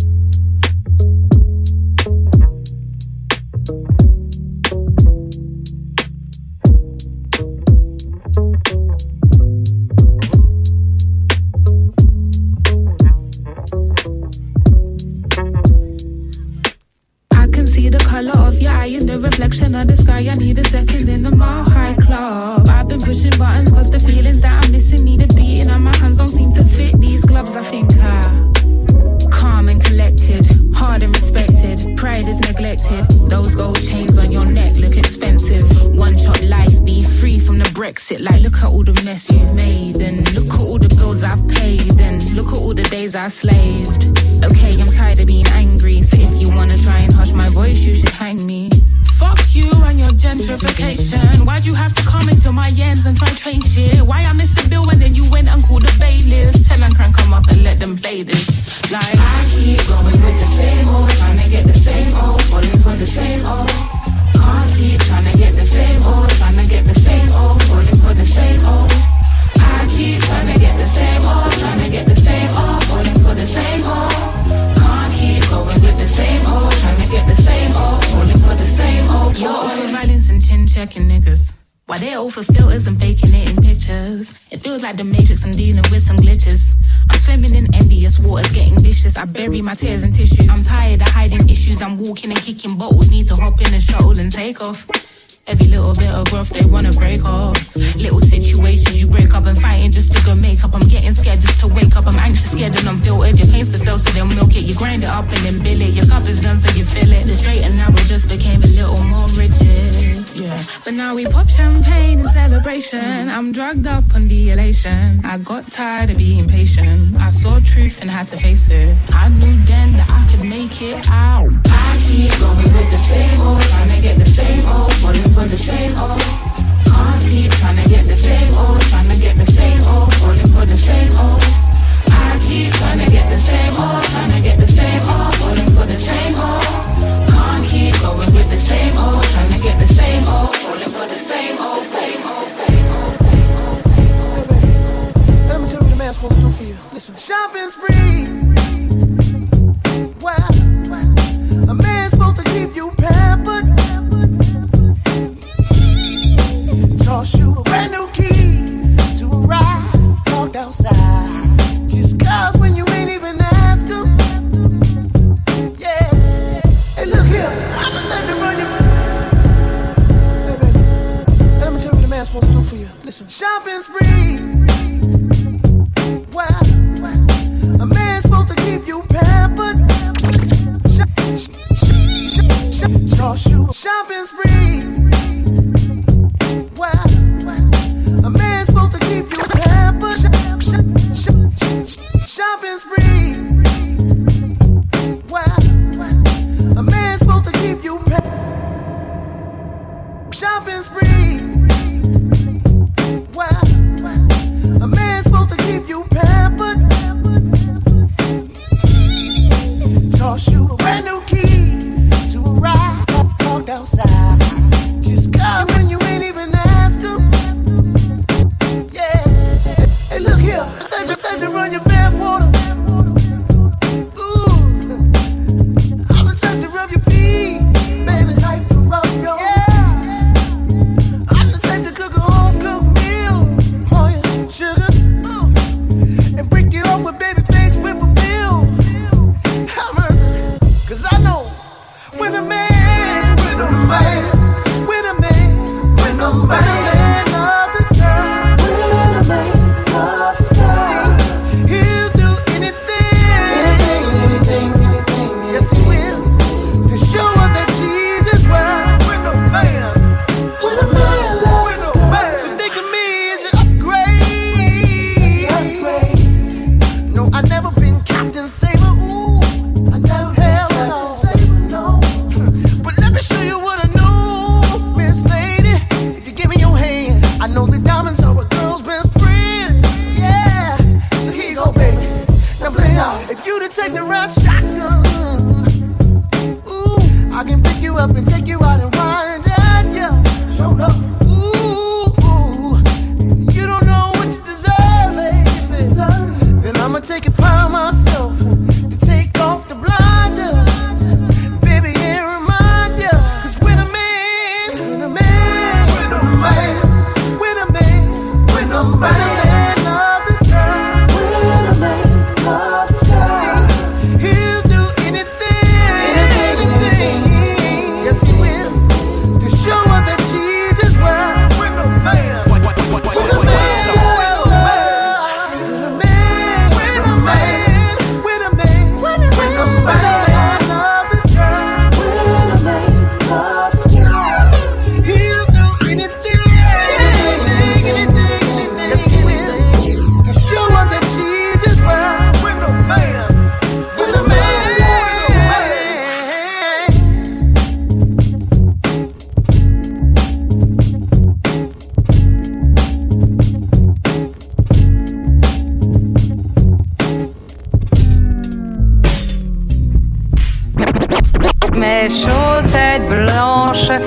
Reflection of the sky, I need a second in the Mile High Club. I've been pushing buttons cause the feelings that I'm missing need a beating and my hands don't seem to fit these gloves. I think calm and collected, hard and respected, pride is neglected. Those gold chains on your neck look expensive. One shot life, be free from the Brexit. Like look at all the mess you've made, and look at all the bills I've paid, and look at all the days I slaved. Okay, I'm tired of being angry, so if you wanna try and hush my voice, you should hang me. Fuck you and your gentrification. Why'd you have to come into my ends and try and train shit? Why I missed the bill and then you went and called the bailiffs? Tell and crank come up and let them play this. Like I keep going with the same old, trying to get the same old, falling for the same old. Can't keep trying to get the same old, trying to get the same old, falling for the same chin checking niggas. Why they all for filters and faking it in pictures. It feels like the Matrix, I'm dealing with some glitches. I'm swimming in envious waters, getting vicious. I bury my tears in tissues. I'm tired of hiding issues. I'm walking and kicking bottles. Need to hop in a shuttle and take off. Every little bit of growth they wanna break off. Little situations you break up and fighting just to go make up. I'm getting scared just to wake up. I'm anxious, scared and unfiltered. Your pain's for sale so they'll milk it. You grind it up and then bill it. Your cup is done so you fill it. The straight and narrow just became a little more rigid. Yeah, but now we pop champagne in celebration. I'm drugged up on the elation. I got tired of being patient. I saw truth and had to face it. I knew then that I could make it out. I keep going with the same old, trying to get the same old, falling for the same old. Can't keep trying to get the same old, trying to get the same old, falling for the same old. I keep trying to get the same old, trying to get the same old, falling for the same old. Can't keep going with the same old, trying to get the same old, falling for the same old, same old, same old, same old, same old. Hey baby, let me tell you what a man's supposed to do for you. Listen, shopping sprees. Wow, a man's supposed to keep you pampered. Toss you a brand new key to a ride, parked outside. Just cause when you ain't even ask him. Yeah. Hey, look here, I'm the type to run you. Hey, baby, let me tell you what a man's supposed to do for you. Listen, shopping sprees. Wow, a man's supposed to keep you pampered. Toss you a shopping sprees. Wow, a man's supposed to keep you pampered. Shopping sprees. Wow, a man's supposed to keep you pampered. Shopping sprees. Wow, a man's supposed to keep you pampered. Toss you a brand new key to a ride, parked outside. Just cause when you ain't even asked him. Yeah. Hey, look here, time to run your bath water. Ooh, I'm the type to rub your feet. Baby, type to rub your I'm the type to cook a home cooked meal for you, sugar. Ooh, and break you off with baby face whip a pill. Have mercy, cause I know when a man loves his girl, see, he'll do anything, yes he will, to show her that she's his world. When a man loves his girl, so think of me as your upgrade. No, I never been Captain Saber. Ooh, I never held Captain Saber, no. But let me show you what I know, Miss Lady. If you give me your hand, I know the diamonds are a girl's best friend. Yeah, so here you go, baby. Now play out. If you to take the right shotgun, ooh, I can pick you up and take you out and wind down, yeah. Show up. Ooh, you don't know what you deserve, baby. Then I'ma take it upon myself to take off the blinders, baby, and remind ya. Cause when a man loves his girl, see, he'll do anything, yes he will, to show her that she's his world. When a man loves his girl, he'll do anything, yes he will, to show her that she's his world. When a man Mes chaussettes blanches.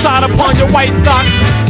outside upon your white socks.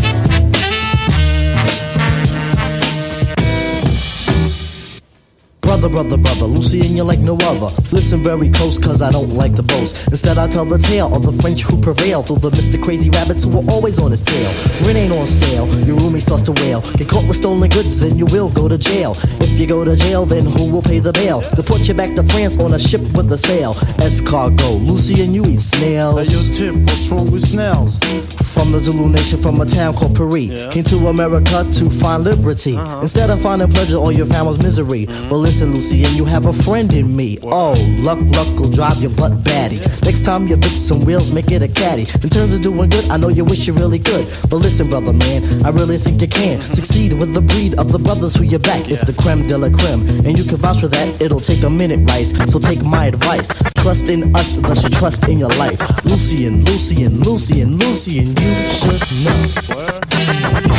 Brother, Lucy and you're like no other. Listen very close, cause I don't like to boast. Instead I tell the tale of the French who prevail through the Mr. Crazy Rabbits who are always on his tail. Rent ain't on sale, your roomie starts to wail. Get caught with stolen goods, then you will go to jail. If you go to jail, then who will pay the bail? Deport you back to France on a ship with a sail. Escargot, Lucy and you eat snails. Hey, yo, Tip, what's wrong with snails? From the Zulu nation, from a town called Paris. Came to America to find liberty. Instead of finding pleasure, all you found was misery. But listen, Lucy, and you have a friend in me. Oh, luck will drive your butt batty. Next time you fix some wheels, make it a caddy. In terms of doing good, I know you wish you really could. But listen, brother man, I really think you can succeed with the breed of the brothers who you back. It's the creme de la creme, and you can vouch for that. It'll take a minute, Rice, so take my advice. Trust in us, thus you trust in your life. Lucian, you should know.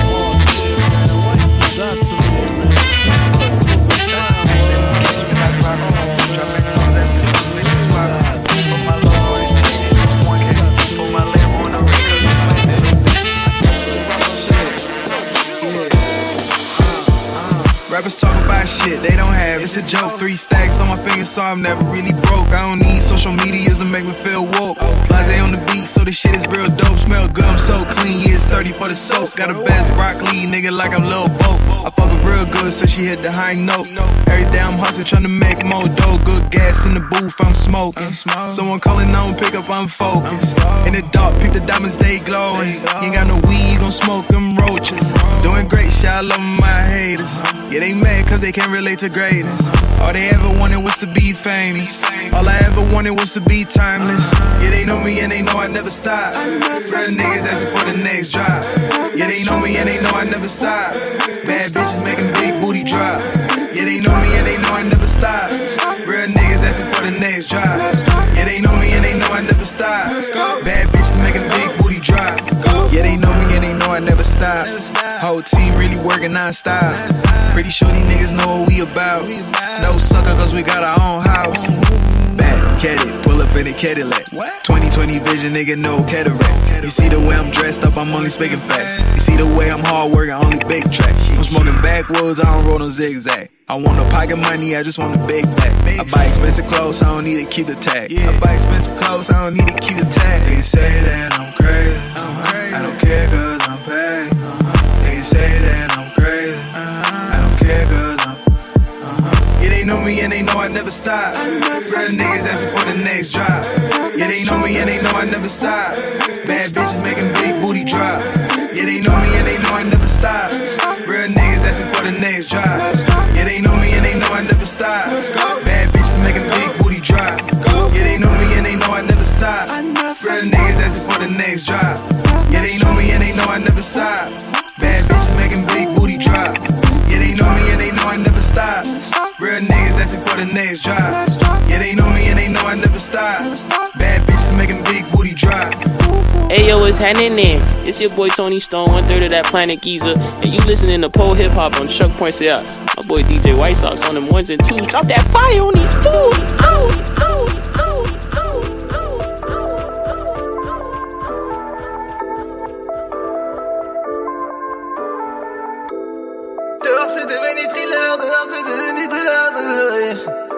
Rappers talk about shit they don't have, it's a joke. 3 stacks on my fingers so I'm never really broke. I don't need social medias to make me feel woke. Blase on the beat so this shit is real dope. Smell good, I'm so clean, yeah it's 30 for the soap. Got a best broccoli, nigga like I'm Lil Bo. I fuck her real good so she hit the high note. Every day I'm hustling trying to make more dough. Good gas in the booth, I'm smoking. Someone calling on pick up, I'm focused. In the dark, peep the diamonds, they glowing. You ain't got no weed, you gon' smoke them roaches. Doing great shit, I love my haters. Yeah, they mad cause they can't relate to greatness. All they ever wanted was to be famous. All I ever wanted was to be timeless. Yeah, they know me and they know I never stop. Real niggas asking for the next drop. Yeah, they know me and they know I never stop. Bad bitches making big booty drop. Yeah, they know me and they know I never stop. Real niggas asking for the next drop. Yeah, they know me and they know I never stop. Bad bitches making big booty drop. Yeah, they know me and they know I never stop. Whole team really working non-stop. Pretty sure these niggas know what we about. No sucker cause we got our own house. Back, Cadillac, pull up in a Cadillac. 20/20 vision, nigga, no cataract. You see the way I'm dressed up, I'm only speaking facts. You see the way I'm hard working, only big tracks. I'm smoking backwoods, I don't roll no zigzag. I want no pocket money, I just want a big bag. I buy expensive clothes, I don't need to keep the tag. I buy expensive clothes, I don't need to keep the tag. They say that I'm crazy, I don't care cause I'm paid. They say that I'm crazy, I don't care cause I'm yeah, they know me and they know I never stop. Real niggas asking for the next drop. Yeah, they know me and they know I never stop. Bad bitches making big booty drop. Yeah, they know me and they know I never stop. Real niggas asking for the next drop. Yeah, they know me and they know I never stop. Bad bitches making big booty drop. Yeah, they know me and they know I never stop. Real niggas asking for the next drop. Yeah, they know me and they know I never stop. Bad bitches making big booty drop. Yeah, they know me and they know I never stop. Real niggas asking for the next drop. Yeah, they know me and they know I never stop. Bad bitches making big booty drop. Ayo, what's happening there? It's your boy Tony Stone, 1/3 of that Planet Giza, and you listening to Pole Hip Hop on Chuck.ca. My boy DJ White Sox on them 1s and 2s. Drop that fire on these fools. Dehors c'est devenu thriller, dehors c'est devenu thriller.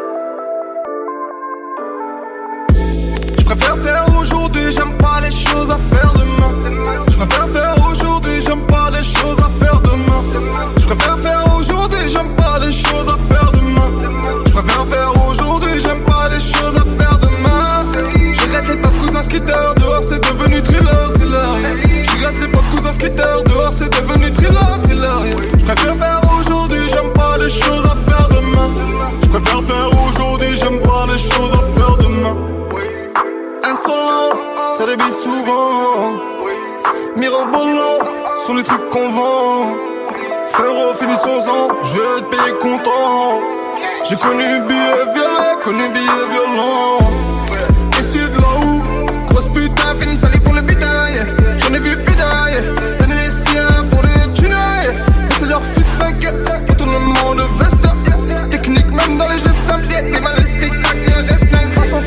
Je préfère faire aujourd'hui, j'aime pas les choses à faire demain. Je préfère faire aujourd'hui, j'aime pas les choses à faire demain. Je préfère faire aujourd'hui, j'aime pas les choses à faire demain. Je préfère faire aujourd'hui, j'aime pas les choses à faire demain. Je regrette les pas de cousins skitters, dehors c'est devenu thriller, thriller. Je regrette les pas de cousins skitters, dehors c'est devenu thriller, thriller. Je préfère faire aujourd'hui, j'aime pas les choses à faire demain. Je préfère faire aujourd'hui, j'aime pas les choses à faire demain. Insolent, ça débite souvent. Mirobolant, sont les trucs qu'on vend. Frérot, finissons-en, je vais être payé content. J'ai connu billet violet, connu billet violent. Issu de là où, grosse putain, fini salé pour le butin, yeah. J'en ai vu putain, yeah. Donner les siens pour les tunes, yeah. C'est leur fut de 5, yeah. Retournement de veste, yeah. Technique même dans les jeux simples, yeah. Les mal les spectacles, yeah. Reste 9, de toute façon tout le monde sait.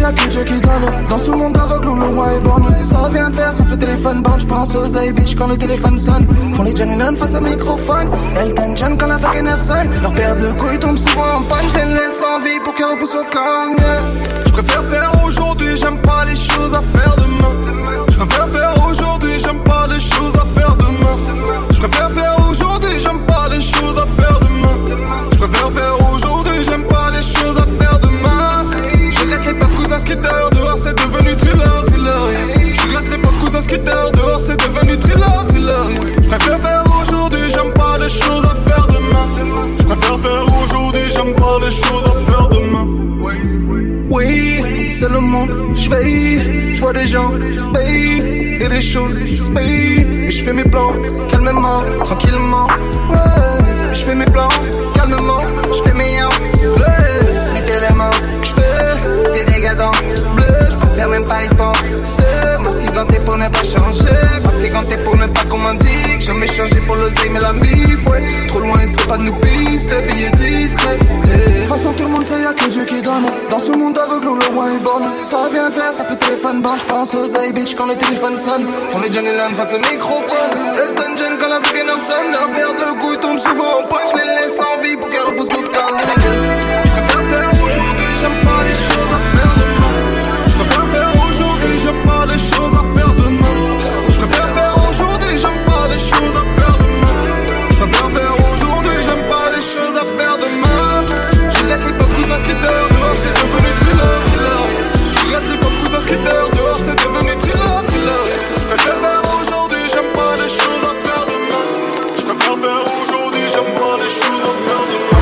y'a que Dieu qui donne. Dans ce monde aveugle où le roi est borné, ça vient de faire simple téléphone bande. J'pense aux A-Bitch quand le téléphone sonne. Font les Johnny Nunn face au microphone. Elton John quand la fucking nerf sonne. Leur paire de couilles tombe souvent en panne. Je les laisse en vie pour qu'ils repoussent au gang. Je préfère faire aujourd'hui, j'aime pas les choses à faire demain. Je préfère faire aujourd'hui, j'aime pas les choses à faire demain. Je préfère faire aujourd'hui, j'aime pas les choses à faire demain. Je préfère faire aujourd'hui, j'aime pas les choses à faire demain. Je regrette les pas de cousins skateurs, dehors c'est devenu thriller, yeah. Je regrette les pas de cousins skateurs, dehors c'est devenu thriller, yeah. Je préfère faire aujourd'hui, j'aime pas les choses à faire demain. Je préfère faire aujourd'hui, j'aime pas les choses à faire demain. Oui, c'est le monde, je vois des gens, space, et des choses, space. Et je fais mes plans, calmement, tranquillement. Ouais, je fais mes plans, calmement, je fais mes yams. Mes éléments, je fais des dégâts dans le bleu. Je préfère même pas y penser. Masqué ganté pour ne pas changer. Masqué ganté pour ne pas qu'on m'indique. Jamais changé pour l'oseille, mais la mif, ouais. Trop loin, c'est pas de nous pistes, billets discrets. De toute façon, tout le monde sait, y'a que Dieu qui donne. Dans ce monde aveugle où le roi est borné, ça vient de faire, ça peut téléphone bande. J'pense aux A-Bitch quand le téléphone sonne. On est Johnny Land face au microphone. Elton John quand la fucking nerf sonne. Leur paire de couilles tombe souvent en punch. Je les laisse en vie pour qu'elles repoussent au gang. Je préfère faire aujourd'hui, j'aime pas les choses à faire demain. Je préfère faire aujourd'hui, j'aime pas les choses à faire demain. Je préfère faire aujourd'hui, j'aime pas les choses à faire demain. Je préfère faire aujourd'hui, j'aime pas les choses à faire demain. Je regrette les pauvres cousins skateurs, dehors c'est devenu thriller, thriller. Je regrette les pauvres cousins skateurs, dehors c'est devenu thriller, thriller. Je préfère faire aujourd'hui, j'aime pas les choses à faire demain. Je préfère faire aujourd'hui, j'aime pas les choses à faire demain.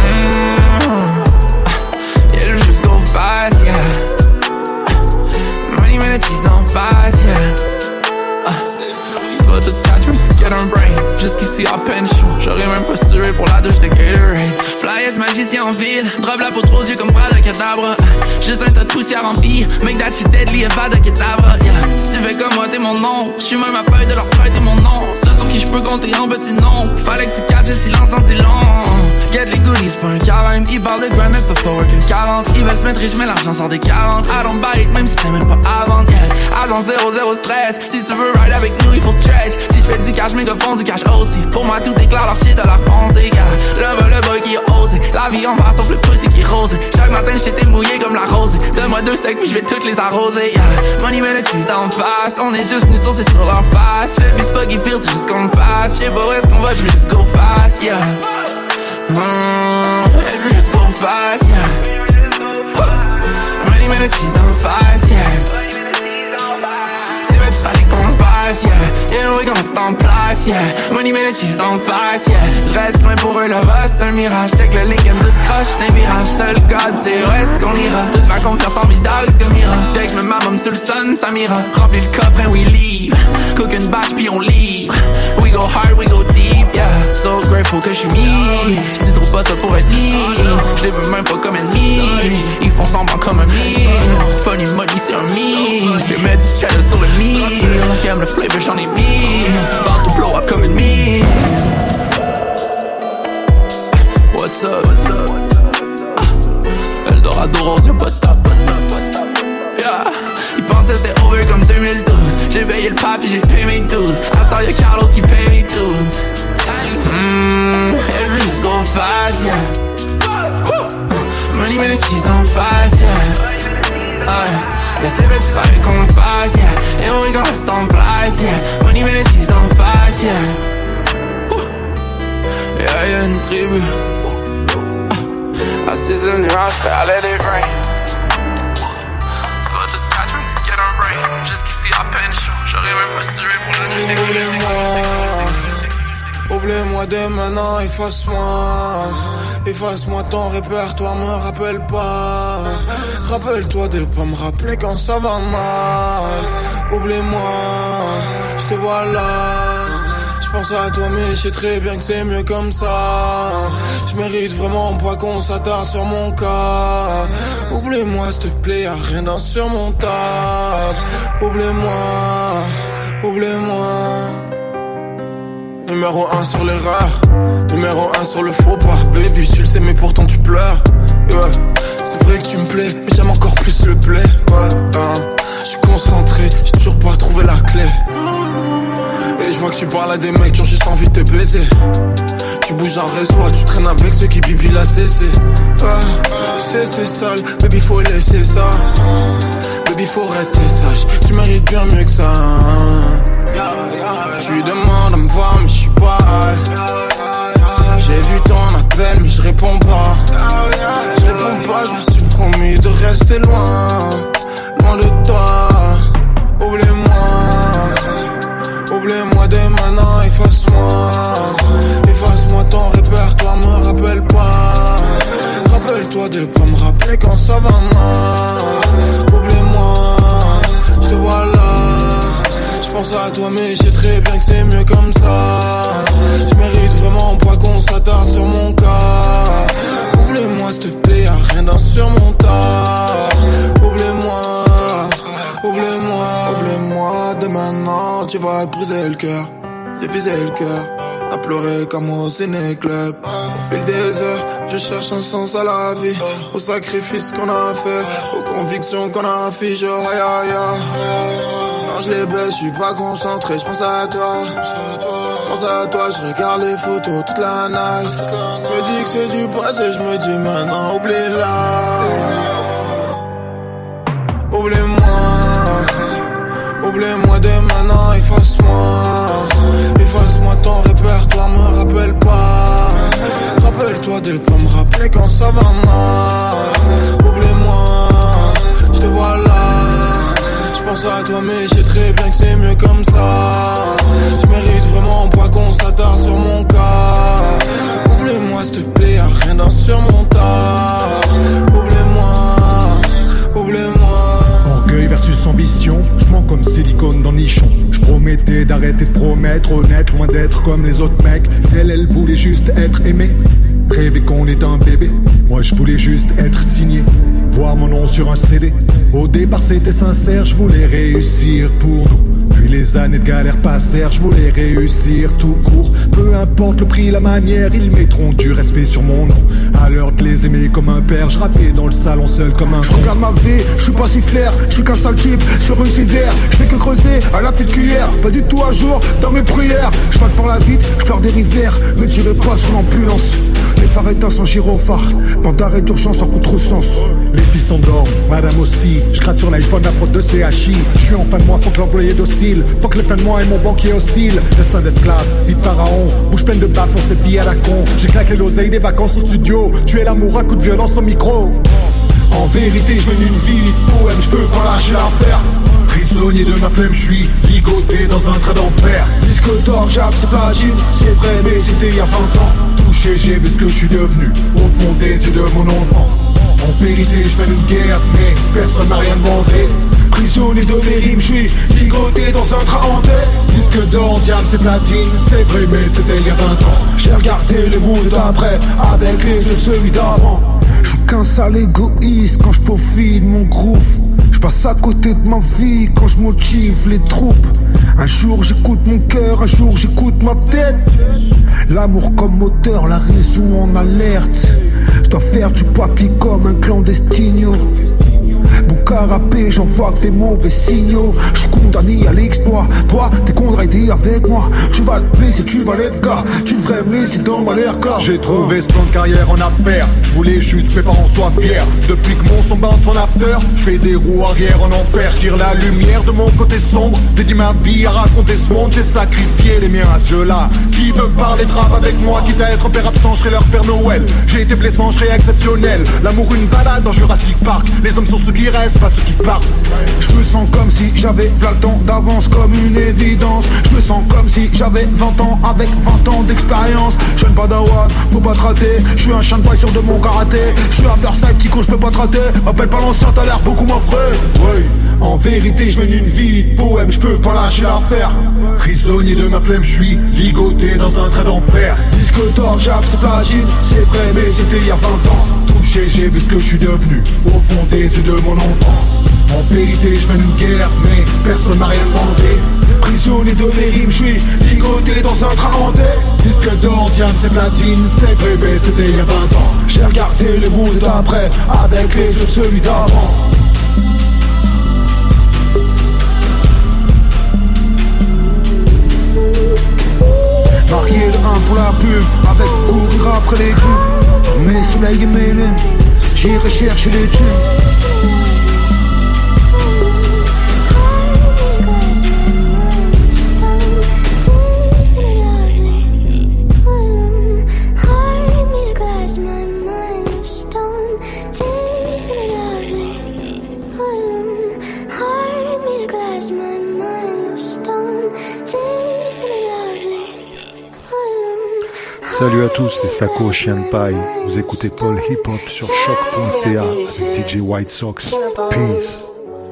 Yeah, let's just go fast, yeah. Money, minutes, she's not fast, yeah. C'est pas tout catch me to get on brain. Jusqu'ici à peine chaud, j'aurais même pas sué pour la douche de Gatorade. Flyers magicien en ville, drop la peau aux yeux comme bras de cadavre. Juste un tas de poussière en vie, make that shit deadly, va de cadavre, yeah. Si tu fais comme moi, t'es mon nom. J'suis même à feuille de leur prêter mon nom. Ceux sur qui j'peux compter en petits noms. Fallait que tu caches le silence en dit long. Get les goodies, pas un carême. Ils parlent de grind, mais peuvent pas work une 40. Ils veulent se mettre riches, mais l'argent sort des 40. I don't buy it, même si t'es même pas à vendre, yeah. Agent 0, stress. Si tu veux ride avec nous, il faut stretch. Si j'fais du cash, mes gars font du cash aussi. Pour moi, tout est clair, leur shit de la foncée, yeah. Le boy qui a osé. La vie en va, sauf le pussy qui est rosé. Chaque matin, j'étais mouillé comme la rosée. Donne-moi 2 secs, puis j'vais toutes les arroser, yeah. Money, mais le cheese d'en face. On est juste nous saucer sur leur face. J'fais plus spuggy feel, c'est juste qu'on me fasse. J'sais pas où est-ce qu'on va, j'veux juste go fast, yeah. J'veux juste go fast, yeah. Money, mais le cheese d'en face, yeah. C'est vrai, tu fallait qu'on le fasse, yeah. Yeah, oui, qu'on reste en place, yeah. Money, mais le cheese d'en face, yeah. J'reste loin pour eux, là-bas, c'est un mirage. Take le Lincoln, tout croche, des virages. Seul God, c'est où est-ce qu'on ira. Toute ma confiance en mes dogs, comme ira. Dès que j'mets ma môme sur le sun, ça m'ira. Remplis le coffre and we leave. Cook une batch, puis on livre. We go hard, we go deep, yeah. So grateful que j'suis me. J'dis trop pas ça pour être me. J'les veux même pas comme ennemi. Ils font semblant comme un me. Funny money, c'est un me. Ils mettent du cheddar sur le meal. J'aime le flavor, j'en ai mis. About to blow up comme une mine. What's up? Eldorado rose, y'a pas de top. Yeah. Ils pensaient c'était over comme 2012. J'ai payé le pape et j'ai payé mes 12. À ça y'a Carlos qui paye mes 12. Every just go fast, yeah. Money, mais le cheese en face, yeah. Yeah, c'est vrai, tu fallait qu'on le fasse, yeah. Et oui, qu'on reste en place, yeah. Money, mais le cheese en face, yeah. Yeah, y'a une tribu. Assis sur le nuage, prêt à let it rain. Tu vas tout catch me to get on brain. Jusqu'ici à peine chaud, j'aurais même pas sué pour la nuit. Oublie-moi dès maintenant, efface-moi. Efface-moi ton répertoire, me rappelle pas. Rappelle-toi de pas me rappeler quand ça va mal. Oublie-moi, je te vois là. J'pense à toi mais je sais très bien que c'est mieux comme ça. Je mérite vraiment pas qu'on s'attarde sur mon cas. Oublie-moi s'il te plaît, y'a rien d'insurmontable. Oublie-moi, oublie-moi. Numéro 1 sur les rares, numéro 1 sur le faux pas. Baby tu le sais mais pourtant tu pleures, yeah. C'est vrai que tu me plais, mais j'aime encore plus le play, ouais. J'suis concentré, j'ai toujours pas trouvé la clé. Et je vois que tu parles à des mecs qui ont juste envie de te baiser. Tu bouges un réseau, tu traînes avec ceux qui bibillent la CC. C'est sale, baby faut laisser ça. Baby faut rester sage, tu mérites bien mieux que ça. Tu demandes à me voir mais j'suis pas high. J'ai vu ton appel mais je réponds pas. Je réponds pas, je me suis promis de rester loin. Loin de toi. Oublie-moi dès maintenant, efface-moi. Efface-moi ton répertoire, me rappelle pas. Rappelle-toi de pas me rappeler quand ça va mal. Oublie-moi, je te vois là. Je pense à toi mais je sais très bien que c'est mieux comme ça. Je mérite vraiment pas qu'on s'attarde sur mon cas. Oublie-moi s'il te plaît, y'a rien d'insurmontable. Oublie-moi, oublie-moi, oublie-moi. Dès maintenant tu vas te briser le cœur. J'ai visé le cœur, t'as pleuré comme au ciné-club. Au fil des heures, je cherche un sens à la vie. Aux sacrifices qu'on a fait, aux convictions qu'on affiche. Aïe aïe aïe. Quand je les baisse, j'suis pas concentré, j'pense à toi. Pense à toi, je regarde les photos toute la night. Me dis que c'est du passé, je me dis maintenant oublie-la. Oublie-moi, oublie-moi dès maintenant, efface-moi. Efface-moi ton répertoire, me rappelle pas. Rappelle-toi de pas me rappeler quand ça va mal. Oublie-moi, je te vois là. J'pense à toi mais je sais très bien que c'est mieux comme ça. Je mérite vraiment pas qu'on s'attarde sur mon cas. Oublie-moi s'il te plaît, y'a rien d'insurmontable. Oublie-moi, oublie-moi. Orgueil versus ambition, je mens comme silicone dans nichon. Je promettais d'arrêter de promettre, honnête, loin d'être comme les autres mecs. Elle voulait juste être aimée, rêver qu'on est un bébé. Moi je voulais juste être signé, voir mon nom sur un CD. Au départ c'était sincère, je voulais réussir pour nous. Puis les années de galère passèrent, je voulais réussir tout court. Peu importe le prix, la manière, ils mettront du respect sur mon nom. À l'heure de les aimer comme un père, je rappais dans le salon seul comme un. Je regarde ma vie, je suis pas si fier, je suis qu'un sale type sur une civière. Je fais que creuser à la petite cuillère, pas du tout à jour dans mes prières. Je passe par la vite, je pleure des rivières, me tirez pas sur l'ambulance. Les phares éteints sans gyrophare, bande d'arrêt d'urgence en contresens. Les filles s'endorment, madame aussi. Je gratte sur l'iPhone, la prod de CHI. Je suis en fin de mois, faut que l'employé docile. Faut que les fins de mois et mon banquier hostile. Destin d'esclave, vie de pharaon. Bouche pleine de baffes, on cette vie à la con. J'ai claqué l'oseille des vacances au studio. Tuer l'amour à coup de violence au micro. En vérité, je mène une vie poème, je peux pas lâcher l'affaire. Prisonnier de ma flemme, je suis ligoté dans un train d'enfer. Disque d'or, j'appe, c'est platine. C'est vrai, mais c'était il y a 20 ans. Touché, j'ai vu ce que je suis devenu. Au fond des yeux de mon enfant. En vérité, je mène une guerre, mais personne m'a rien demandé. Prisonnier de mes rimes, je suis ligoté dans un train hanté. Disque d'or, diable, c'est platine. C'est vrai, mais c'était il y a 20 ans. J'ai regardé le monde d'après avec les yeux de celui d'avant. Je suis qu'un sale égoïste quand je peaufine mon groove. Je passe à côté de ma vie quand je motive les troupes. Un jour j'écoute mon cœur, un jour j'écoute ma tête. L'amour comme moteur, la raison en alerte. Je dois faire du papier comme un clandestino. Mon carapé, j'envoie que des mauvais signaux. Je suis condamné à l'exploit. Toi, t'es condamné avec moi. Tu vas te blesser, tu vas l'être gars. Tu devrais me laisser dans ma l'air car j'ai trouvé ce plan de carrière en affaires. Je voulais juste que mes parents soient fiers. Depuis que mon son bat son after, je fais des roues arrière en enfer. Je tire la lumière de mon côté sombre. Dédie ma vie à raconter ce monde. J'ai sacrifié les miens à ceux-là qui veut parler de rap avec moi. Quitte à être père absent, je serai leur Père Noël. J'ai été blessant, je serai exceptionnel. L'amour une balade dans Jurassic Park. Les hommes sont ceux qui restent, pas ceux qui partent. Je me sens comme si j'avais 20 ans d'avance, comme une évidence. Je me sens comme si j'avais 20 ans avec 20 ans d'expérience. Jeune padawan, faut pas te rater. Je suis un chien de paille sûr de mon karaté. Je suis un burst snipe, petit con, je peux pas te rater. M'appelle pas l'ancien, t'as l'air beaucoup moins frais. Oui, en vérité, je mène une vie de poème, je peux pas lâcher l'affaire. Prisonnier de ma flemme, je suis ligoté dans un train d'enfer. Disque d'or, j'appe, c'est platine. C'est vrai, mais c'était il y a 20 ans. Touché, j'ai vu ce que je suis devenu. Au fond des yeux de mon enfant. En vérité, je mène une guerre, mais personne m'a rien demandé. Prisonnier de mes rimes, je suis ligoté dans un train hanté. Disque d'or, diable, c'est platine. C'est vrai, mais c'était il y a 20 ans. J'ai regardé le monde d'après avec les yeux de celui d'avant. pub avec courir après les tubes. Mes soleils et mes lunes, j'irai chercher les tubes. Salut à tous, c'est Sako Chien de Paille. Vous écoutez Paul Hip Hop sur choc.ca avec DJ White Sox. Peace.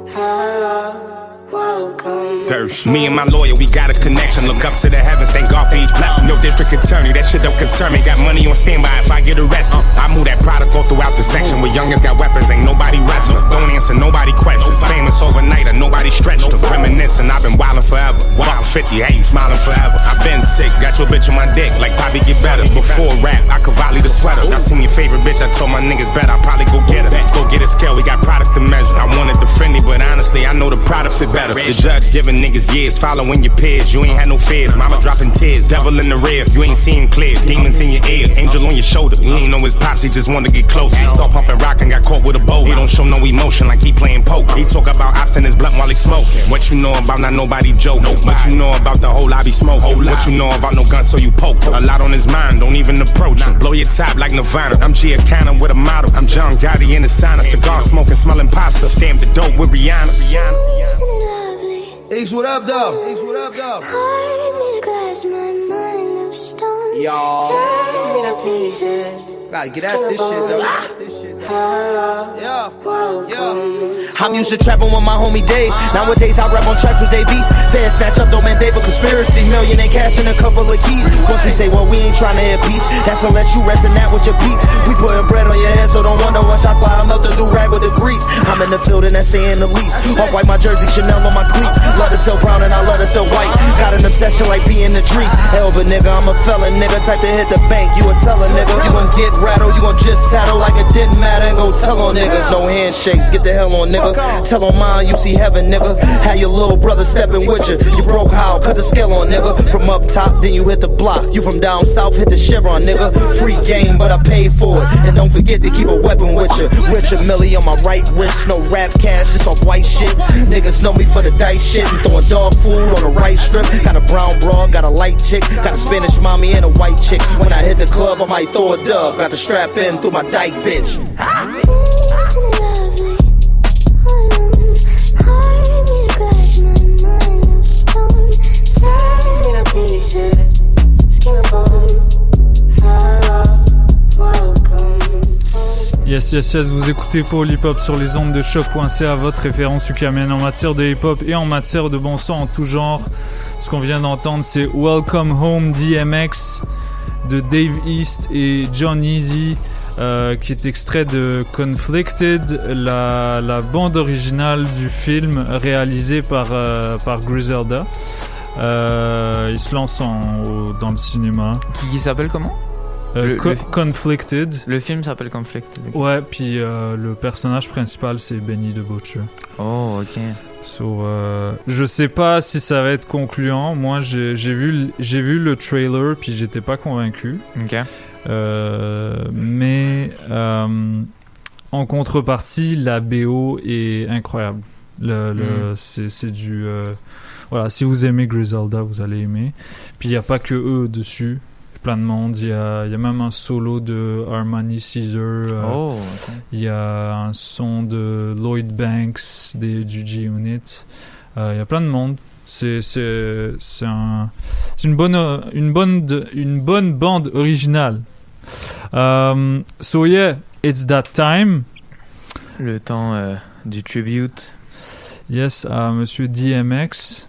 Me and my lawyer, we got a connection. Look up to the heavens, thank God for each blessing. Yo, district attorney, that shit don't concern me. Got money on standby if I get arrested. I move that product all throughout the section. Where youngins got weapons, ain't nobody wrestling. Don't answer nobody questions. Famous overnight, or nobody stretched them. Reminiscing, I've been wildin' forever. Walk 50, hey, you smiling forever. I've been sick, got your bitch on my dick. Like Bobby get better. Before rap, I could volley the sweater. I seen your favorite bitch, I told my niggas bet I'll probably go get her. Go get a scale, we got product to measure. I wanted the friendly, but honestly, I know the product fit better. The judge giving niggas years, following your peers. You ain't had no fears, mama dropping tears. Devil in the rear, you ain't seeing clear. Demons in your ear, angel on your shoulder. He ain't know his pops, he just wanted to get closer. He start pumping rock and got caught with a bow. He don't show no emotion like he playing poker. He talk about ops in his blunt while he smoking. What you know about not nobody joke? What you know about the whole lobby smoke? What you know about no gun so you poke? A lot on his mind, don't even approach him. Blow your top like Nirvana. I'm Giacana with a model. I'm John Gotti in the sauna. Cigar smoking, smelling pasta. Stamp the dope with Rihanna. Ace, what up, though? Ace, what up, though? Y'all. Gotta get at this shit, though. I'm used to trapping with my homie Dave. Nowadays I rap on tracks with Dave Beast. Fed snatch up, don't man Dave a conspiracy. Million in cash and a couple of keys. Once we say, well, we ain't trying to hit peace. That's unless you resting that with your peeps. We putting bread on your head, so don't wonder when shots fly. I melt the do-rag with the grease. I'm in the field and that's saying the least. Off-white my jersey, Chanel on my cleats. Love to sell brown and I love to sell white. Got an obsession like being the trees. Hell, but nigga, I'm a felon, nigga. Type to hit the bank, you a teller, nigga. You gon' get rattled, you gon' just tattle like it didn't matter. And go tell on niggas, no handshakes, get the hell on, nigga. Tell on mine, you see heaven, nigga. Had your little brother stepping with you. You broke how? Cut the scale on, nigga. From up top, then you hit the block. You from down south, hit the Chevron, nigga. Free game, but I paid for it. And don't forget to keep a weapon with you. Richard Millie on my right wrist, no rap cash, just off white shit. Niggas know me for the dice shit. I'm throwing dog food on the right strip. Got a brown broad, got a light chick. Got a Spanish mommy and a white chick. When I hit the club, I might throw a dub. Got the strap in through my dyke, bitch. Yes, vous écoutez Paul Hip Hop sur les ondes de choc.ca, votre référence ukamienne en matière de hip hop et en matière de bon son en tout genre. Ce qu'on vient d'entendre, c'est Welcome Home DMX de Dave East et John Easy, qui est extrait de Conflicted, la bande originale du film réalisé par Griselda. Il se lance dans le cinéma. Qui s'appelle comment? Conflicted. Le film s'appelle Conflicted. Ouais, puis le personnage principal c'est Benny the Butcher. Oh, ok. So, je sais pas si ça va être concluant. Moi, j'ai vu le trailer puis j'étais pas convaincu. Ok. Mais en contrepartie, la BO est incroyable. C'est du voilà. Si vous aimez Griselda, vous allez aimer. Puis il y a pas que eux dessus. Plein de monde, il y a même un solo de Armani Caesar, il y a un son de Lloyd Banks du G-Unit, il y a plein de monde. C'est une bonne bande originale. So yeah, it's that time. Le temps du tribute. Yes, à Monsieur DMX.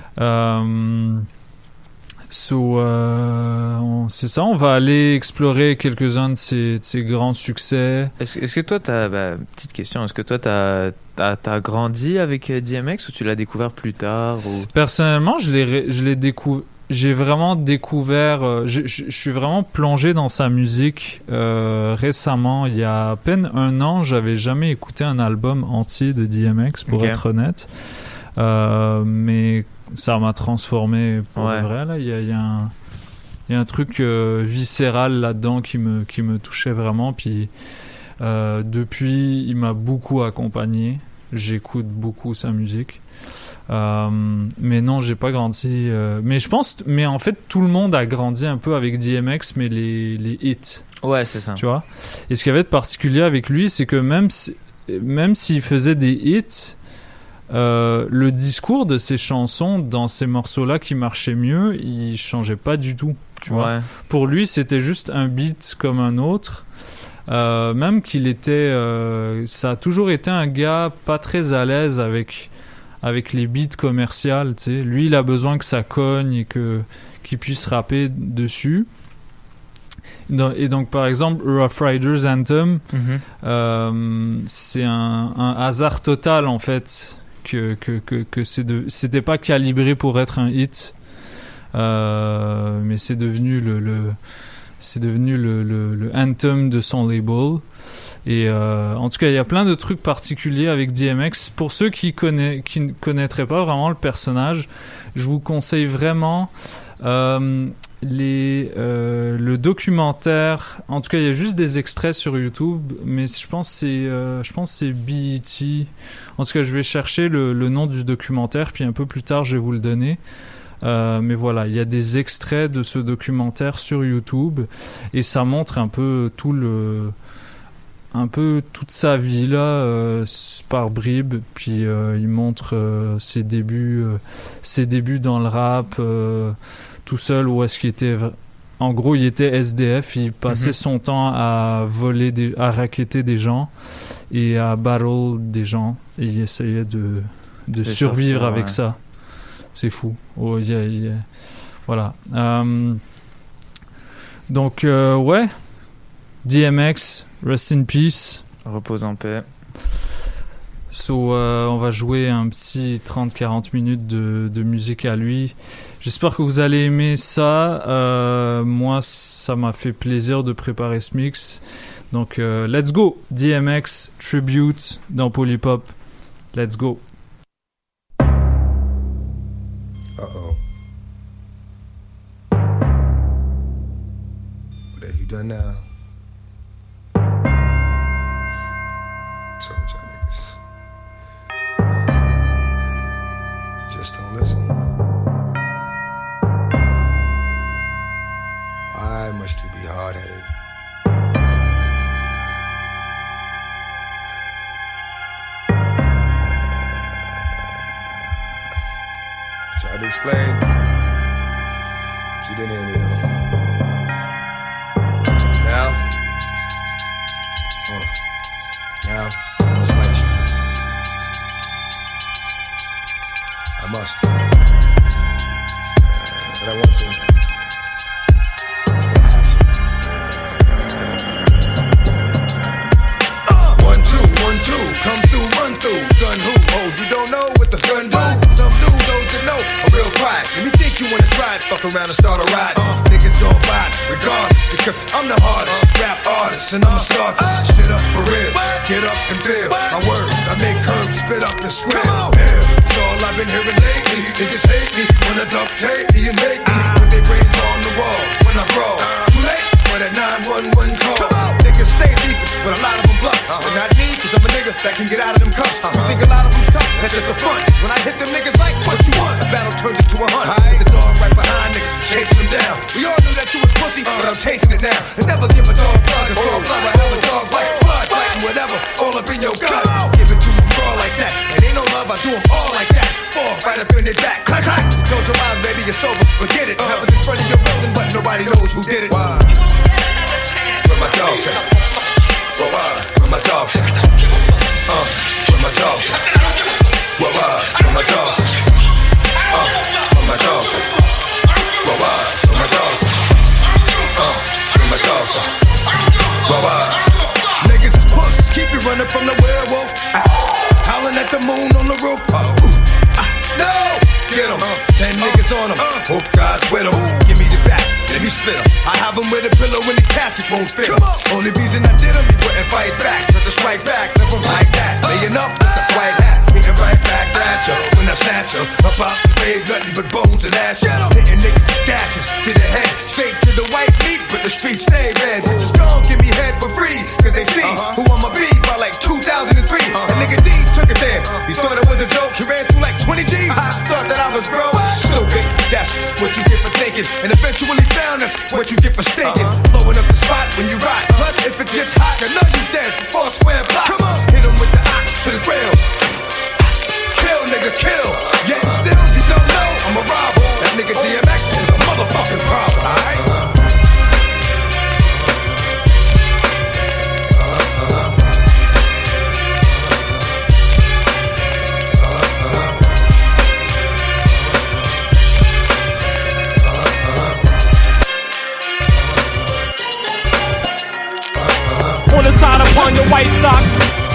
C'est ça, on va aller explorer quelques-uns de ses grands succès. Est-ce que toi, petite question, est-ce que toi, t'as grandi avec DMX ou tu l'as découvert plus tard ou... Personnellement, j'ai vraiment découvert, je suis vraiment plongé dans sa musique récemment. Il y a à peine un an, j'avais jamais écouté un album entier de DMX, pour être honnête. Mais ça m'a transformé pour vrai. Là, il y a Il y a un truc viscéral là-dedans qui me touchait vraiment. Puis depuis, il m'a beaucoup accompagné. J'écoute beaucoup sa musique. Mais non, j'ai pas grandi. Mais en fait, tout le monde a grandi un peu avec DMX, mais les hits. Ouais, c'est ça. Tu vois. Et ce qu'il y avait de particulier avec lui, c'est que même s'il faisait des hits, le discours de ses chansons dans ces morceaux-là qui marchaient mieux, il changeait pas du tout. Tu vois. Pour lui, c'était juste un beat comme un autre. Même qu'il était, ça a toujours été un gars pas très à l'aise avec les beats commerciales. Tu sais, lui, il a besoin que ça cogne et qu'il puisse rapper dessus. Et donc, par exemple, Rough Riders Anthem, c'est un hasard total en fait que c'était pas calibré pour être un hit. Mais c'est devenu le anthem de son label. Et en tout cas, il y a plein de trucs particuliers avec DMX. Pour ceux qui ne connaîtraient pas vraiment le personnage, je vous conseille vraiment le documentaire. En tout cas, il y a juste des extraits sur YouTube, mais je pense que c'est BET. En tout cas, je vais chercher le nom du documentaire, puis un peu plus tard, je vais vous le donner. Mais voilà, il y a des extraits de ce documentaire sur YouTube et ça montre un peu toute sa vie là, par bribes. Puis il montre ses débuts dans le rap, tout seul, où est-ce qu'il était. En gros, il était SDF, il passait son temps à voler, à racketter des gens et à battle des gens, et il essayait de survivre avec ça. C'est fou. Oh, voilà. Donc, ouais. DMX, rest in peace. Repose en paix. So, on va jouer un petit 30-40 minutes de musique à lui. J'espère que vous allez aimer ça. Moi, ça m'a fait plaisir de préparer ce mix. Donc, let's go. DMX Tribute dans Polypop. Let's go. Uh-oh. What have you done now? Told y'all niggas. You just don't listen. Why must you be hard-headed? Tried to explain, but you didn't hear me though. Now, I must let you. I must. But I want to. One, two, come through, run through. Gun who? Oh, you don't know what the gun do? Some do, those that know are real quiet. Let me think you wanna try it, fuck around and start a ride. Niggas gon' ride regardless, because I'm the hardest rap artist and I'm a starter. Shit up for real, get up and feel my words. I make curves, spit up and squeal. It's all I've been hearing lately. Niggas hate me, wanna duct tape me and make me put their brains on the wall when I brawl. Too late for that 911 call. Niggas stay beefing, but a lot of them bluff. But not me, cause I'm a nigga that can get out of them cuffs. You think a lot of them's tough, that's just a front. When I hit them niggas like, what you want? A battle turns into a hunt. The dog right behind niggas, chasing them down. We all knew that you was pussy, but I'm tasting it now. And never give a dog blood, cause dog blood, I have a dog like blood. Fighting whatever, all up in your gut. Give it to them raw like that. And ain't no love, I do them all like that. Fall right up in their back, clack, clack. Close your eyes, baby, you're sober, forget it. Happens in front of your building, but nobody knows who did it. Where my dogs at? Where my dogs at? Where my dogs at? Where my dogs at? Where my dogs at? Where my dogs at? Where my dogs at? Niggas is pussies, keep you running from the werewolf. Howling at the moon on the roof. No! Get 'em, 10 niggas on 'em. Hope God's with 'em. Give me the back, let me split 'em. I have 'em with a pillow and the casket won't fit 'em. Only reason I did 'em, you wouldn't fight back. Not to strike back, live 'em like that. Laying up with the white hat, hitting right back at ya. When I snatch her. About the grave, nothing but bones and ashes. Hitting niggas with gashes to the head, straight to the white meat, but the streets stay red. Just gon' give me head for free, cause they see who I'ma be by like 2003. A nigga D took it there. He thought it was a joke, he ran through like 20 G's. Thought that I was broke. Stupid, that's what you get for thinking. And eventually found that's what you get for stinking. Blowing up the spot when you rock. Plus, if it gets hot, you know you dead for 4 square blocks. Come on, hit him with the ox to the grill. Kill, nigga, kill. Yet still, you don't know I'm a robber. That nigga DMX is a motherfucking problem, alright? On the side upon your white socks.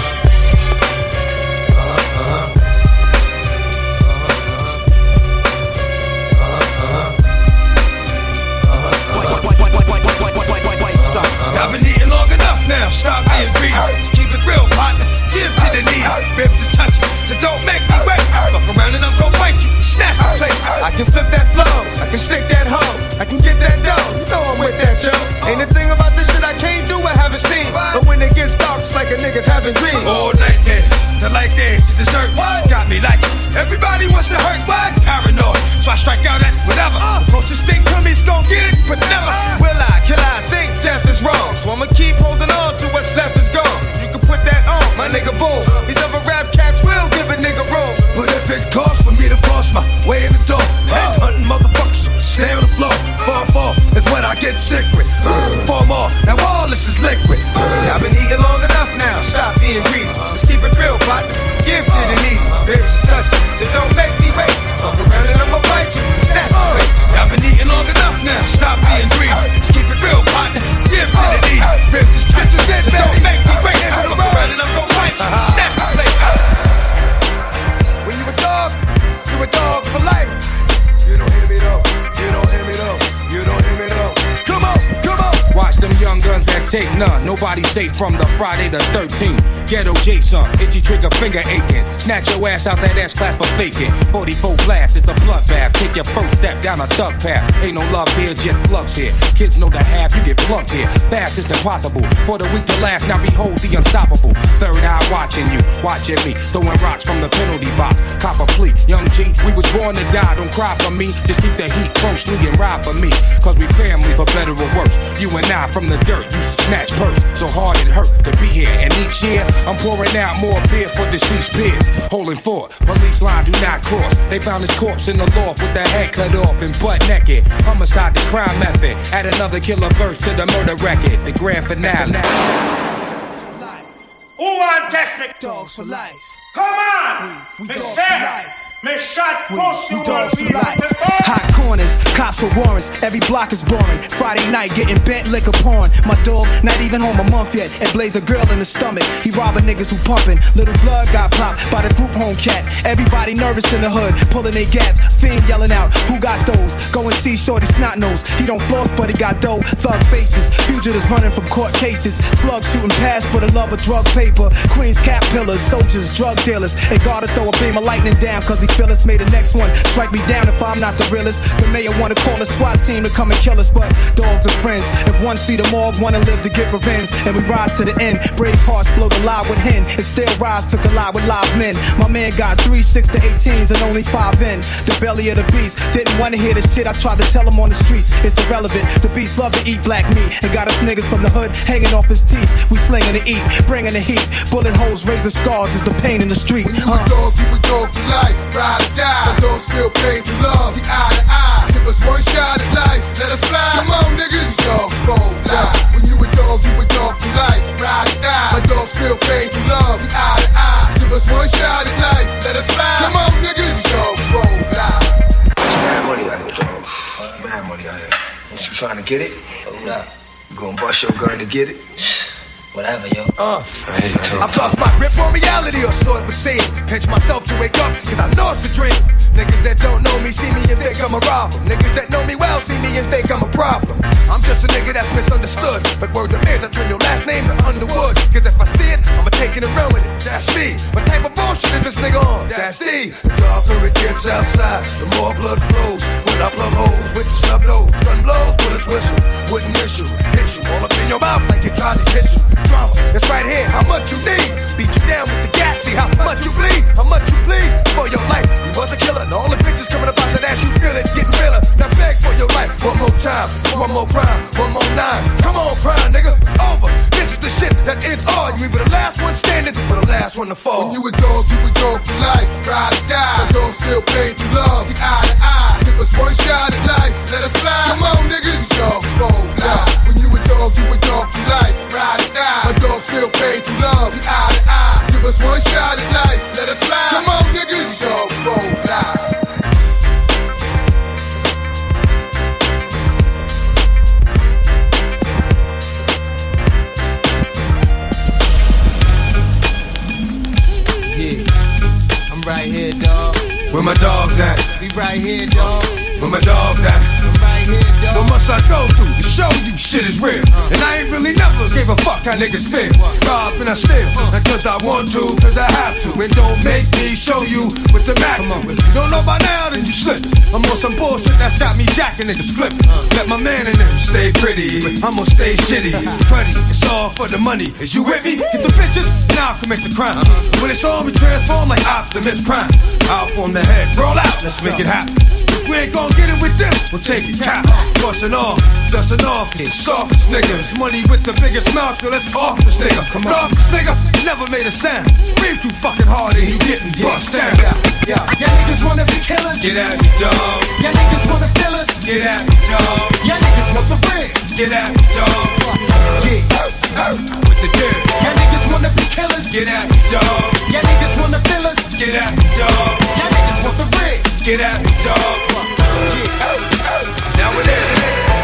I've been eating long enough now, stop being greedy. Just keep it real, partner, give to the needy. Ribs is touchy, so don't make me wait. Fuck around and I'm gon' bite you, snatch the plate. I can flip that flow, I can stick that hoe, I can get that dough. You know I'm with that, yo. Ain't a thing about this shit I can't do, I haven't seen. But when it gets dark, it's like a nigga's having dreams. All nightmares, the light dance to dessert. Got me like it. Everybody wants to hurt, what? Paranoid, so I strike out at whatever. The closest thing to me's gon' get it, but never will I, kill I think death is wrong. So I'ma keep holding on to what's left is gone. You can put that on, my nigga, boom. These other rap cats will give a nigga room. But if it costs for me to force my way in the door, head hunting motherfuckers, stay on the floor. Fall is what I get sick with. 4 more, now all this is liquid. I've been eating long enough now, stop being greedy. Let's keep it real, partner, give to the needy. Ribs is touchy, so don't make me wait. Fuck around and I'ma bite you, snatch the plate. I've been eating long enough now, stop being greedy. Let's keep it real, partner, give to the needy. Ribs is touchy, so don't make me wait. Fuck around and I'm gon' bite you, snatch the plate. When you a dog for life. You don't hear me though, you don't hear me though, you don't hear me though. Come on, come on. Watch them young guns that take none. Nobody safe from the Friday the 13th. Ghetto Jason, itchy trigger finger aching. Snatch your ass out that ass class for faking. 44 blast, it's a bloodbath. Take your first step down a thug path. Ain't no love here, just flux here. Kids know the half, you get plucked here. Fast is impossible. For the weak to last, now behold the unstoppable. Third eye watching you, watching me. Throwing rocks from the penalty box. Cop a plea, young G, we was born to die. Don't cry for me, just keep the heat closely and ride for me. Cause we family for better or worse. You and I from the dirt, used to snatch purse. So hard it hurt to be here. And each year, I'm pouring out more beer for deceased peers. Holding fort, police line do not cross. They found his corpse in the loft with the head cut off and butt naked. Homicide, the crime method. Add another killer verse to the murder record. The grand finale. Who want test me? Dogs for life. Come on! We Me dogs say, for life. me shot push you dogs will for be life. the ball. Hot corners, cops with warrants. Every block is boring. Friday night getting bent liquor porn. My dog not even home a month yet and blaze a girl in the stomach. He robbing niggas who pumping. Little blood got popped by the group home cat. Everybody nervous in the hood, pulling their gas. Fiend yelling out, who got those? Go and see shorty snot nose. He don't floss but he got dough. Thug faces, fugitives running from court cases. Slugs shooting past for the love of drug paper. Queens cap pillars, soldiers, drug dealers. They gotta throw a beam of lightning down cause he feel us. Made the next one strike me down if I'm not the realest. The mayor wanna call a SWAT team to come and kill us, but dogs are friends. If one see the morgue, wanna live to get revenge, and we ride to the end. Brave hearts float alive with hen, and still rise to collide with live men. My man got 3 6 to 18s and only 5 in the belly of the beast. Didn't wanna hear the shit I tried to tell him on the streets. It's irrelevant. The beast love to eat black meat and got us niggas from the hood hanging off his teeth. We slinging to eat, bringing the heat. Bullet holes, razor scars is the pain in the street. When you a dog, you a dog for life. Ride or die. My dogs feel pain through love. See eye to eye. Give us one shot at life. Let us fly. Come on, niggas. Dogs gon' lie. When you a dog for life. Ride or die. My dogs feel pain through love. See eye to eye. Give us one shot at life. Let us fly. Come on, niggas. Dogs gon' lie. There's mad money out here, dog. Mad money out here. What you trying to get it? Hold up. You gonna bust your gun to get it? Whatever, yo. I've lost my grip on reality, or so it would seem. Pinch myself to wake up, cause I know it's a dream. Niggas that don't know me see me and think I'm a robber. Niggas that know me well see me and think I'm a problem. I'm just a nigga that's misunderstood. But word to me is I turn your last name to Underwood. Cause if I see it, I'ma take taking it real with it. That's me. What type of bullshit is this nigga on? That's D. The darker it gets outside, the more blood flows. When I plug holes with the snub nose, gun blows, bullets whistle. Wouldn't issue, hit you all up in your mouth like you tried to hit you. Drama, it's right here. How much you need? Beat you down with the gat. See how much you bleed? How much you bleed for your life? You was a killer, and all the bitches coming about that ass. You feel it, getting realer. Now beg for your life. One more time, one more crime, one more nine. Come on, crime, nigga, it's over. This is the shit that ends all. You either the last one standing or the last one to fall. When you a dog for life. Ride or die. The dog still paid to love. See eye to eye. Give us one shot at life. Let us fly. Come on, niggas. Dogs roll live. When you a dog for life. Ride or die. A dog still paid to love. See eye to eye. Give us one shot at life. Let us fly. Come on, niggas. Dogs roll live. Right here, dog. Where my dogs at? We right here, dog. Where my dogs at? I'm right here, dog. What must I go through to show you shit is real? And I ain't really never gave a fuck how niggas feel. Rob and I steal, not cause I want to, cause I have to. And don't make me show you with the Mac. If you don't know by now, then you slip. I'm on some bullshit that's got me jacking niggas flipping. Let my man in them stay pretty, I'ma stay shitty. Cruddy, it's all for the money. Is you with me? Get the bitches, now I can make the crime. When it's on, we transform like Optimus Prime. Out on the head, roll out, let's make it happen. If we ain't gon' get it with them, we'll take it cap. Bustin' off, dustin' off, the softest niggas. Money with the biggest mouth, yo, let's off this nigga. Come on, this nigga never made a sound. Breathe too fucking hard and you getting bust down. Y'all niggas wanna be killers. Get at me, dog. Y'all niggas wanna fill us. Get at me, dog. Y'all niggas want the ring. Get at me, dog. With the dirt. Y'all niggas wanna be killers. Get at me, dog. Y'all niggas wanna fill us. Get at me, dog. Y'all niggas want the ring. Get at me, dog. Now it is.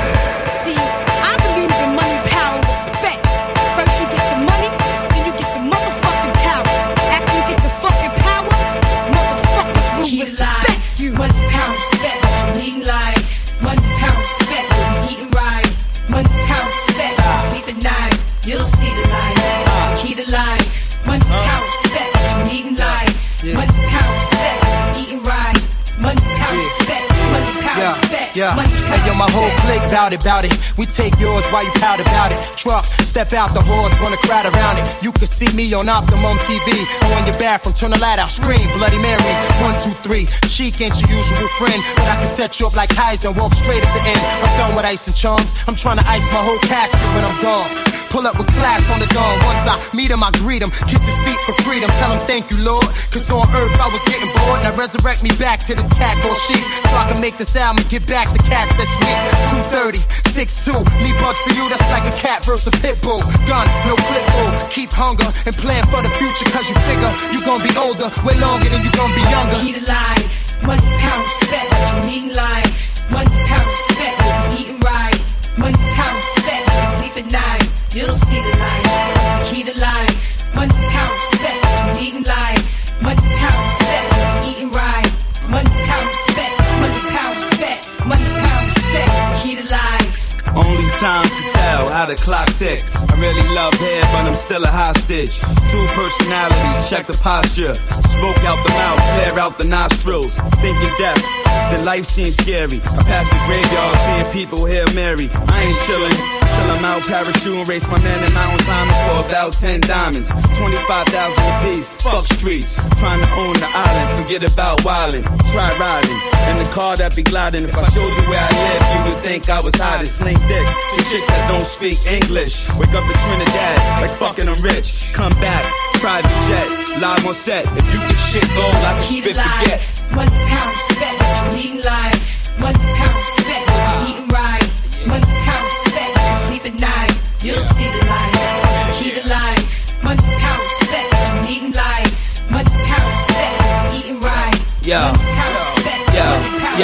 See, I believe in money, power, and respect. First you get the money, then you get the motherfucking power. After you get the fucking power, motherfuckers will respect you. Money, power, respect. What you need in life. Money, power, respect. What you eating right. Money, power, respect. Sleep at night. You'll see the light. Key to life. Money, power, respect. What you need in life. Money, power, respect. What you eating right. Money, power, respect. Money, power, respect. Money, power, hey, yo, my whole clique bout it. We take yours while you pout about it. Truck, step out the horse, wanna crowd around it. You can see me on Optimum TV. On your bathroom, turn the light out, scream Bloody Mary. 1, 2, 3. Chic ain't your usual friend, but I can set you up like Heisen and walk straight at the end. I'm done with ice and charms. I'm trying to ice my whole casket when I'm gone. Pull up with class on the dawn. Once I meet him, I greet him. Kiss his feet for freedom. Tell him thank you, Lord. Cause on earth I was getting bored. Now resurrect me back to this cat called sheep. So I can make this album and get back the cats that's weak. 230, 6'2". Me bugs for you, that's like a cat versus a pit bull. Gun, no flip bull. Keep hunger and plan for the future. Cause you figure you gon' be older way longer than you gon' be younger. Key to life. Money, power, respect. What you need in life. Money, power, respect. What you eating right. Money, power, respect. When you sleep at night. You'll see the light. That's the key to life. Money, power, respect. What you need in life. Money, power, respect. What you eating right. Money, power, respect. Money, power, respect. Money, power, respect. That's the key to life. Only time to tell how the clock tick. I really love head, but I'm still a hostage. 2 personalities, check the posture. Smoke out the mouth, flare out the nostrils. Thinking death, then life seems scary. I pass the graveyard, seeing people here marry. I ain't chillin' till I'm out parachute and race my man in mountain climbing for about 10 diamonds. 25,000 apiece, fuck streets. Trying to own the island, forget about wildin'. Try riding in the car that be gliding. If I showed you where I live, you would think I was hiding. Sling dick, the chicks that don't speak English. Wake up in Trinidad, like fucking I'm rich. Come back, private jet, live on set. If you get shit gold, I can spit the get. Money, power, respect. What you need in life. Money, power, respect. What you eating right. Money, power, respect. When you sleep at night. You'll see the light. That's the key to life. Money, power, respect. What you need in life. Money, power, respect. What you eating right. Money, power, respect. Money, power, respect.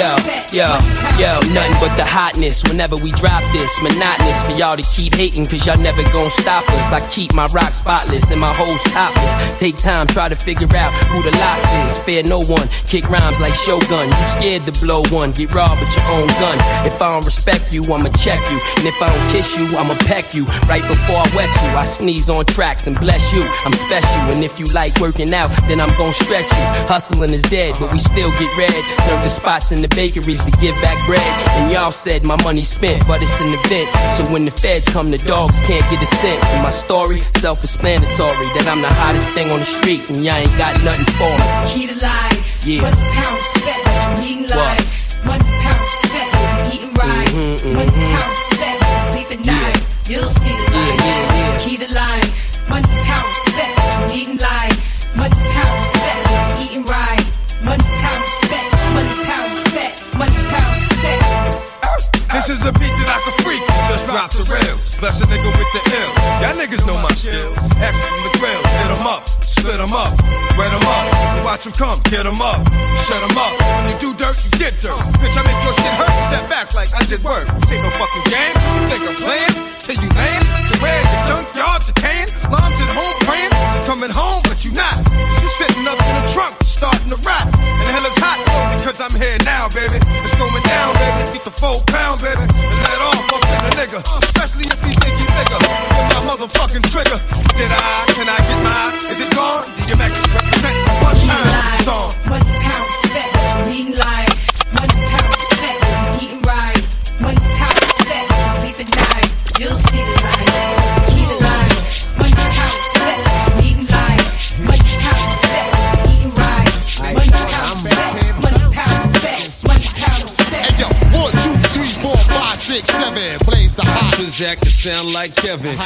Yo, nothing but the hotness whenever we drop this. Monotonous for y'all to keep hating, cause y'all never gon' stop us. I keep my rock spotless and my hoes topless. Take time, try to figure out who the locks is. Fear no one, kick rhymes like Shogun. You scared to blow one, get robbed with your own gun. If I don't respect you, I'ma check you. And if I don't kiss you, I'ma peck you. Right before I wet you, I sneeze on tracks and bless you. I'm special, and if you like working out, then I'm gon' stretch you. Hustling is dead, but we still get red. Serve the spots in the bakeries to give back bread. And y'all said my money's spent, but it's an event. So when the feds come, the dogs can't get a cent. And my story, self-explanatory, that I'm the hottest thing on the street, and y'all ain't got nothing for me. That's the key to life. Yeah. Money, pound, respect, what you need in life. Money, pound, respect, what you eating right. Money, pound, respect, what you sleep at night. You'll see the light. That's the key to life. Money, pound, respect, what you need in life. Money, pound, respect, what you eating right. Money, pound, respect, money, pound, respect, money, pound, respect. This is a beat that I can freak and just drop the rails. Bless a nigga with the ill. Y'all niggas know my skill. X from the grills, hit 'em up, split 'em up, wet 'em up, and watch 'em come, get 'em up, shut 'em up. When you do dirt, you get dirt. Bitch, I make your shit hurt, step back like I did work. This ain't no fucking game, you think I'm playing? Till you lame, to where the junkyard decaying. Mom's at home praying, to coming home, but you not. You sitting up in the trunk, starting to rap. And hell is hot, though, because I'm here now, baby. It's going down, baby. Get the 4 pound, baby. And let off up in the nigga. Especially if he think he bigger. With my motherfucking trigger. Did I? Can I get mine? Is it gone? DMX represent one time song. Money, pound, respect, what you need in life. Money, pound, respect, what you eating right. Money, pound, respect, what you sleep at night. You'll see the light. That's the key to life. Money, pound, respect, what you need in life. Money, pound, respect, what you eating right. Money, pound, respect, money, pound, respect, money, pound, respect. Hey yo, 1, 2, 3, 4, 5, 6, 7. Blaze the hot. Transact to sound like Kevin.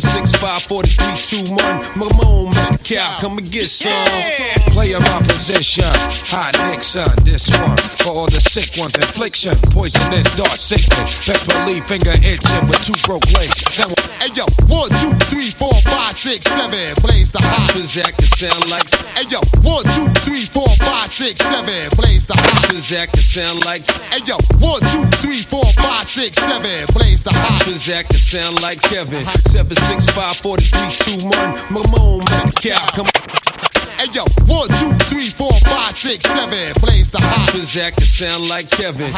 765 43 21. Mamone Metcalf, come and get some. Play of opposition, hot Nixon, this one. For all the sick ones, infliction, poisonous, dark sickness. Best believe finger itching with 2 broke legs. Now, hey yo, 1, 2, 3, 4, 5, 6, 7. Blaze the hot. Transact to sound like. Hey yo, 1, 2, 3, 4, 5, 6, 7. Blaze the hot. Transact to sound like. Hey yo, 1, 2, 3, 4, 5, 6, 7. Blaze the hot. Transact to sound like Kevin. 765 43 21. Mamone Metcalf, come. Hey yo, 1, 2, 3, 4, 5, 6, 7. Blaze the hot. Transact to sound like Kevin.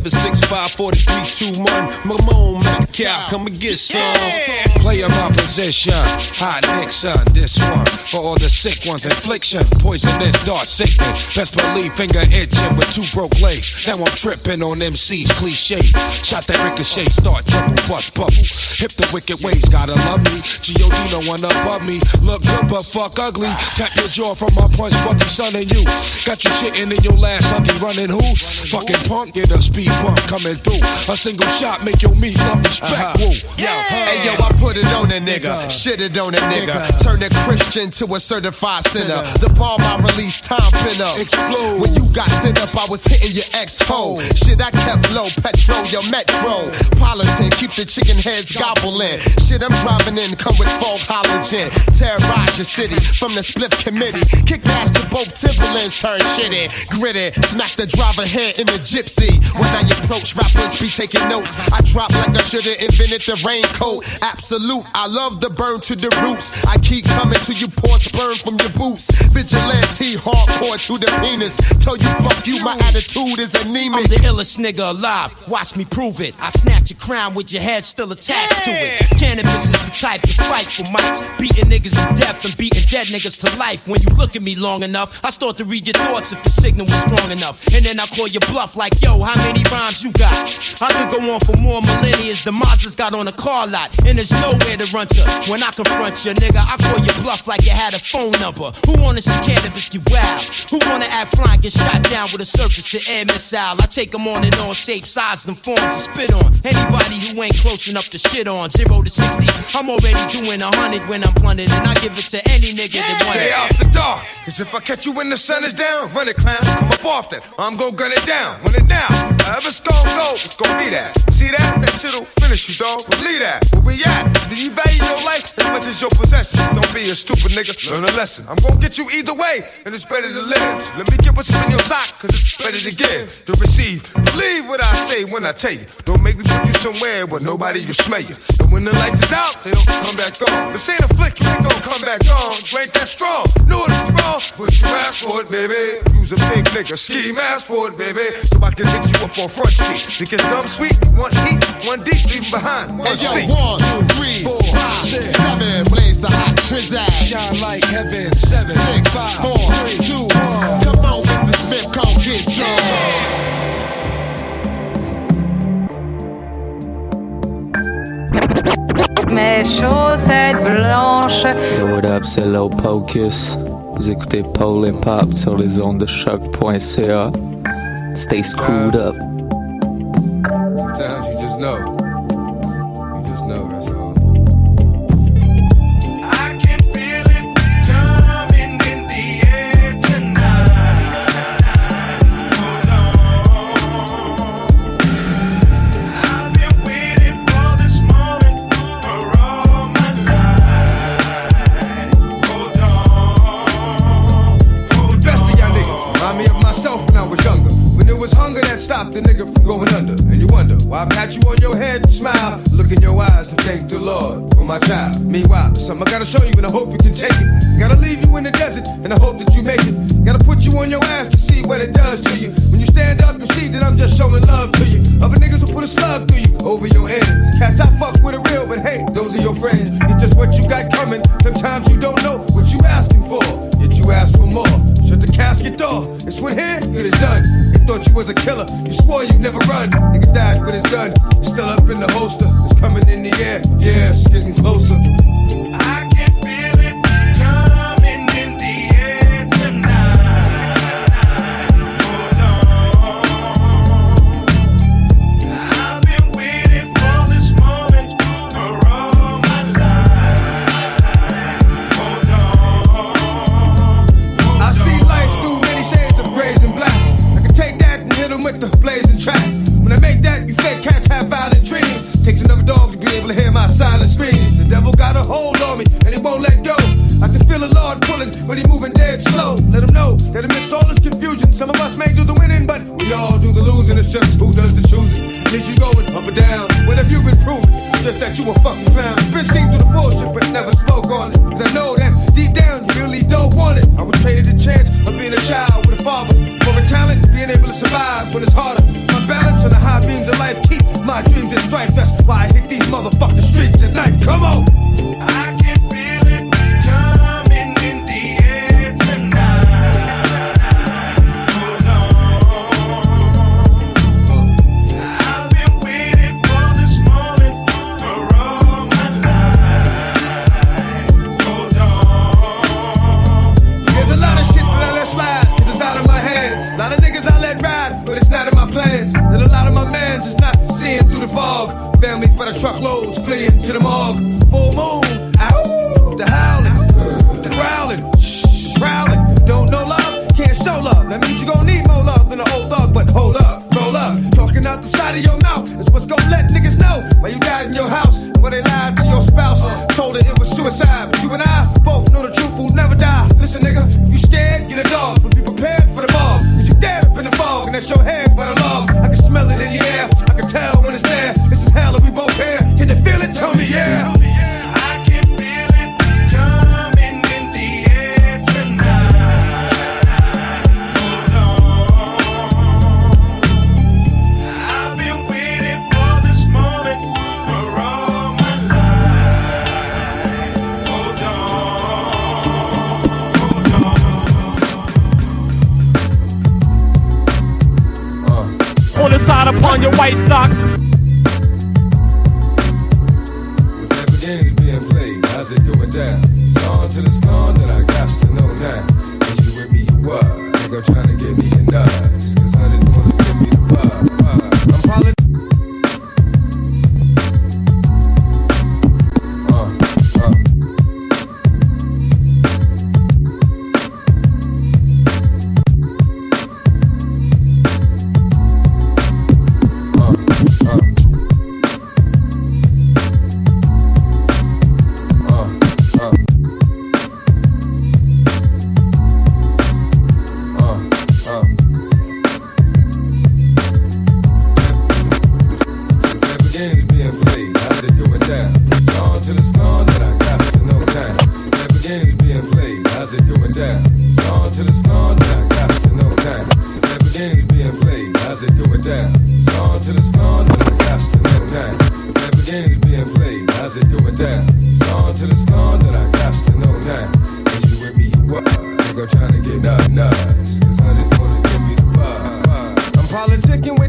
765 43 21. Mamone Metcalf, come and get some. play of opposition, hot Nixon, this one. For all the sick ones, infliction, poisonous, dark sickness. Best believe finger itching with 2 broke legs. Now I'm tripping on MC's cliche. Shot that ricochet, start trouble, bust bubble. Hip the wicked ways, gotta love me. G.O.D. no one above me. Look good but fuck ugly. Tap your jaw from my punch, Bucky, son, and you. Got you shitting in your last huggy, running who? Fucking punk, get a speed bump coming through. A single shot make your meat love respect. Woo. Yo, hey yo, I put it on a nigga, shit it on a nigga. Turn a Christian to a certified sinner. The bomb I released, time pin up. Explode. When you got sent up, I was hitting your ex-hole. Shit, I kept low, petrol, your metro. Politan, keep the chicken heads gobbling. Shit, I'm driving in, come with fog halogen. Terrorize your city from the split committee. Kick ass to both Timberlands, turn shit in. Gritty, smack the driver head in the gypsy. When I approach, rappers be taking notes. I drop like I should've invented the raincoat. Absolute, I love the burn to the roots. I keep coming till you pour sperm from your boots. Vigilante, hardcore to the penis. Tell you fuck you, my attitude is anemic. I'm the illest nigga alive, watch me prove it. I snatch your crown with your head still attached to it. Cannabis is the type to fight for mics. Beating niggas to death and beating dead niggas to life. When you look at me long enough, I start to read your thoughts if the signal was strong enough. And then I call your bluff like, yo, how many rhymes you got? I could go on for more millennia. The Mazda's got on a car lot, and there's nowhere to run to. When I confront you, nigga, I call your bluff like you had a phone number. Who wanna see cannabis get wild? Who wanna act fly and get shot down with a surface to air missile? I take them on and on, shape, size, and forms to spit on. Anybody who ain't close enough to shit on. 0 to 60, I'm already doing 100 when I'm blunted, and I give it to any nigga that wants it. Stay out the dark. are. Cause if I catch you when the sun is down, run it, clown, come up off that. I'm gon' gun it down, run it down. However it's gon' go, it's gon' be that. See that? That shit'll finish you, dog. Believe that. Where we at? Do you value your life as much as your possessions? Don't be a stupid nigga, learn a lesson. I'm gon' get you either way, and it's better to live. Let me get what's in your sock, cause it's better to give, to receive. Believe what I say when I tell you. Don't make me put you somewhere where nobody will smell you. And when the lights is out, they don't come back on. This ain't a flick, you ain't gon' come back on. You ain't that strong, knew it was wrong, but you asked for it, baby. You's a big nigga, scheme, ask for it, baby. So I can hit you up on Front Street. Because dumb sweet, one heat, one deep, leave behind. One sleep. 1, 2, 3, 4, 5, 6, 7, blaze the hot trizag. Shine like heaven. 7, 6, 5, 4, 3, 2, 1. Come on, Mr. Smith, come get some. Mes chaussettes blanches. Yo, what up, c'est Low Pocus. Vous écoutez Pole and Pop sur les ondes de choc.ca. Stay screwed up. Sometimes you just know. You just know, that's all. I can feel it coming in the air tonight. Hold on. I've been waiting for this moment for all my life. Hold on. The best of y'all niggas remind me of myself when I was younger. When it was hunger that stopped the nigga from going under. And you wonder why I pat you on your head and smile, look in your eyes and thank the Lord for my child. Meanwhile, something I gotta show you and I hope you can take it. Gotta leave you in the desert and I hope that you make it. Gotta put you on your ass to see what it does to you. When you stand up, you see that I'm just showing love to you. Other niggas will put a slug through you over your ends. Cats I fuck with are real, but hey, those are your friends. It's just what you got coming. Sometimes you don't know what you asking for, yet you ask for more. Shut the casket door. It's when here, it is done. They thought you was a killer. You swore you'd never run. Nigga died with his gun. It's still up in the holster. It's coming in the air. Yeah, it's getting closer. I can feel it coming in the air tonight. Hold on. I've been waiting for this moment for all my life. Hold on. I see life through many shades of grays and blacks. I can take that and hit them with the blazing tracks. When I make that, you fake cats have violent dreams. Takes another dog to be able to hear my silent screams. The devil got a hold on me and he won't let go. I can feel the Lord pulling, but he moving dead slow. Let him know that amidst all this confusion, some of us may do the winning, but we all do the losing. It's just who does the choosing. Means you going up or down. What have you been proving? Just that you a fucking clown. Been seen through the bullshit, but never spoke on it. Cause I know that deep down you really don't want it. I was traded the chance of being a child with a father. For a talent, being able to survive when it's harder. My balance on the high beams of life keep my dreams in strife. That's why I hit these motherfucking streets at night. Come on! I can feel it coming in the air tonight. Hold on. I've been waiting for this moment for all my life. Hold on. There's a lot of shit that I let slide, 'cause it's out of my hands. A lot of niggas I let ride, but it's not in my plans. And a lot of my mans is not seeing through the fog. Families by the truckloads fleeing to the morgue. Full moon, ow, the howling, the growling, the prowling. Don't know love, can't show love. That means you gon' need more love than an old dog. But hold up, roll up. Talking out the side of your mouth is what's gon' let niggas know why you died in your house and why they lied to your spouse. Told her it was suicide, but you and I both know the truth will never die. Listen, nigga, if you scared, get a dog, but be prepared for the mob. Cause you dead up in the fog, and that's your head by the log. I can smell it in the air, I can tell when it's there. This is hell, and we both here. Can you feel it? Tell me, yeah. I can feel it coming in the air tonight. Hold on. I've been waiting for this moment for all my life. Hold on. On the side upon your white socks. Game's being played, how's it going down? It's on till it's gone, then I got to know now. Is you with me, you what? Nigga trying to get me a nuts, 'cause honey's wanna give me the bug. I'm calling.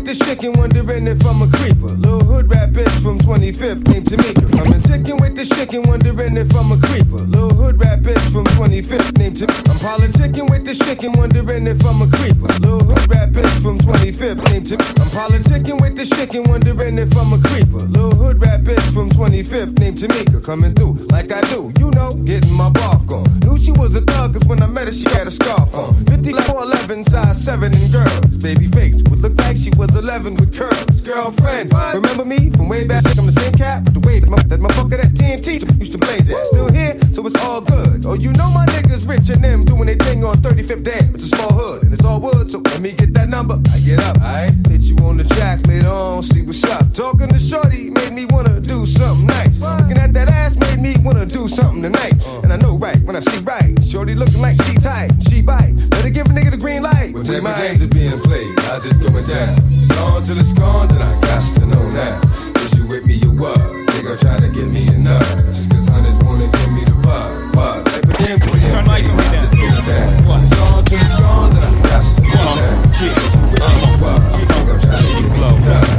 this chicken, wondering if I'm a creeper. Little hood rat bitch from 25th named Tamika. Coming ticking with this chicken, wondering if I'm a creeper. Little hood rat bitch from 25th named Tamika. I'm politicking with this chicken, wondering if I'm a creeper. Little hood rat bitch from 25th named Tamika. I'm politicking with this chicken, wondering if I'm a creeper. Little hood rat bitch from 25th named Tamika. Coming through like I do, you know, getting my bark on. Knew she was a thug, cause when I met her, she had a scarf on. 54'11", size 7 in girls. Baby face would look like she was 11 with curls. Girlfriend, remember me from way back? I'm the same cat with the wave that motherfucker that TNT used to blaze at. Still here, so it's all good. Oh, you know my niggas rich and them doing their thing on 35th Dam. It's a small hood and it's all wood, so let me get that number. I get up, I hit you on the jack later on, see what's up. Talking to shorty made me wanna do something nice. Looking at that ass made me wanna do something tonight. And I know right when I see right. Shorty looking like she tight, she bite. Better give a nigga the green light. What type of games are being played? How's it going down? It's on till it's gone, then I got to know now. Is you with me, you what? Nigga try to get me a nut. Just cause hunters wanna give me the bug. What type of games are being played? How's it going down? It's on till it's gone, then I got to know now. Nigga try to get me a nut.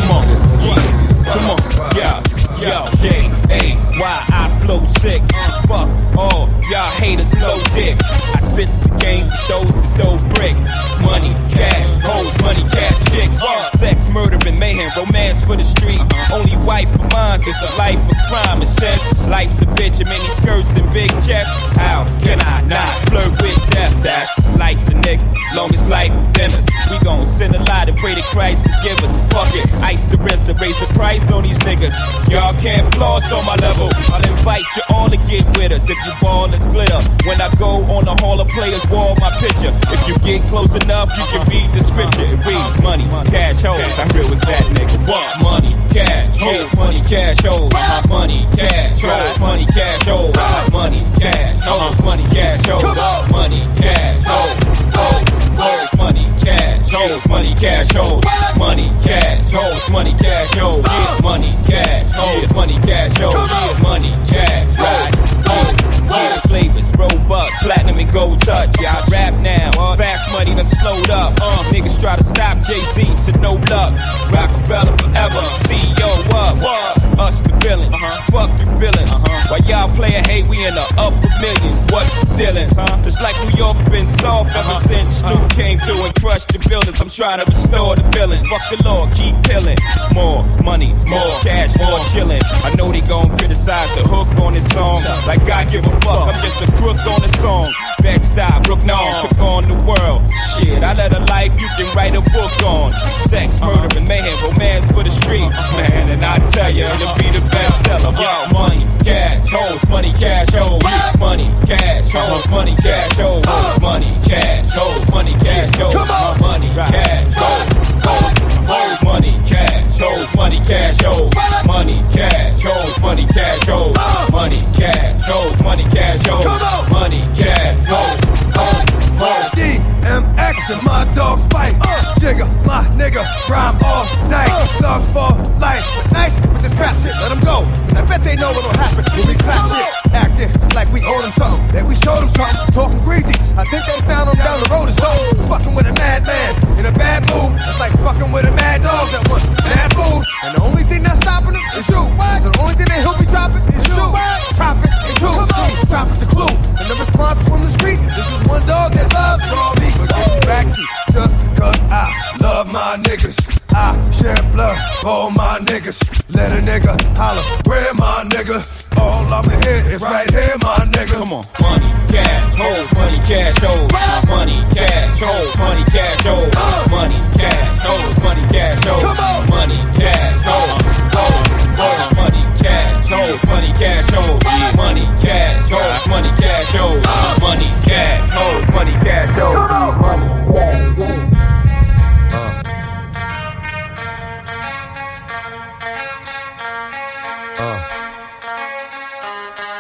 Come on, yo, J-A-Y, I flow sick. Fuck all y'all haters, blow dick. I spit the game, throw bricks. Money, cash, hoes, money, cash, chicks. Sex, murder, and mayhem, romance for the street. Only wife of mine, it's a life of crime. And since life's a bitch and many skirts and big checks, how can I not flirt with death? That's life's a nigga, long as life dinners. We gon' send a lot and pray to Christ forgive us. Fuck it, ice the wrist and raise the price on these niggas. Y'all can't floss on my level. I'll invite you all to get with us if you ball is glitter. When I go on the Hall of Players wall, my picture. If you get close enough, you can read the scripture. It reads money, cash, hoes. I'm real as that nigga. What? Money, cash, hoes, money, cash, hoes. Money, cash, hoes, money, cash, hoes. Money, cash, hoes, money, cash, hoes. Money, cash, hoes, hoes, money, cash, hoes, money, cash, hoes. Money, cash, hoes, money, cash, hoes. Money, cash, hoes, money, cash, hoes. Money, cash, hoes, flavors, robust, platinum and gold touch. Yeah, I rap now, fast money done slowed up. Niggas try to stop Jay-Z to no luck. Rockefeller forever, CEO up. Us the villains, fuck the villains. While y'all playin' hate, we in the upper millions. What's the dealings, Just like New York's been soft ever since Snoop came through and crushed the buildings. I'm trying to restore the feelings. Fuck the law, keep killing. More money, more cash, more chillin'. I know they gon' criticize the hook on this song. Like I give a fuck, I'm just a crook on the song. Bed-Stuy, Brook Norm, took on the world. Shit, I led a life you can write a book on. Sex, murder, and mayhem, romance for the street. Man, and I tell you, it'll be the bestseller. Yo, money, cash, hoes, money, cash, hoes. Money, cash, hoes, money, cash, hoes. Money, cash, hoes, money, cash, hoes. Money, cash, hoes, money, cash, hoes, money, cash, hoes. Money, cash, hoes, money, cash, hoes. Money, cash, hoes, money, cash, hoes. Money, cash, hoes. DMX and my dogs bite. Jigga, my nigga, rhyme all night. Thugs for life, but nice with this rap shit. Let them go, cause I bet they know what'll happen when we clap shit. Acting like we owe them something, that we showed them something. Talking greasy, I think they found them down the road or so. Fucking with a madman in a bad mood. It's like fucking with a mad dog that wants bad food. And the only thing that's stopping him is you. The only thing that he'll be dropping is you. Drop it and two, drop it the clue. And the response from the street, this is one dog that loves raw meat. But get back to just cause I love my niggas. I share blood, all my niggas. Let a nigga holler, where my nigga? All I'ma hear is right here, my nigga. Come on, money, cash, hoes, money, cash, hoes. Money, cash, hoes, money, cash, hoes. Money, cash, hoes, money, cash, hoes. Money, cash, hoes, hoes, money, cash, hoes, money, cash, hoes. Money, cash, hoes, money, cash, hoes. Money, cash, hoes, money, cash, hoes. Money, cash, hoes.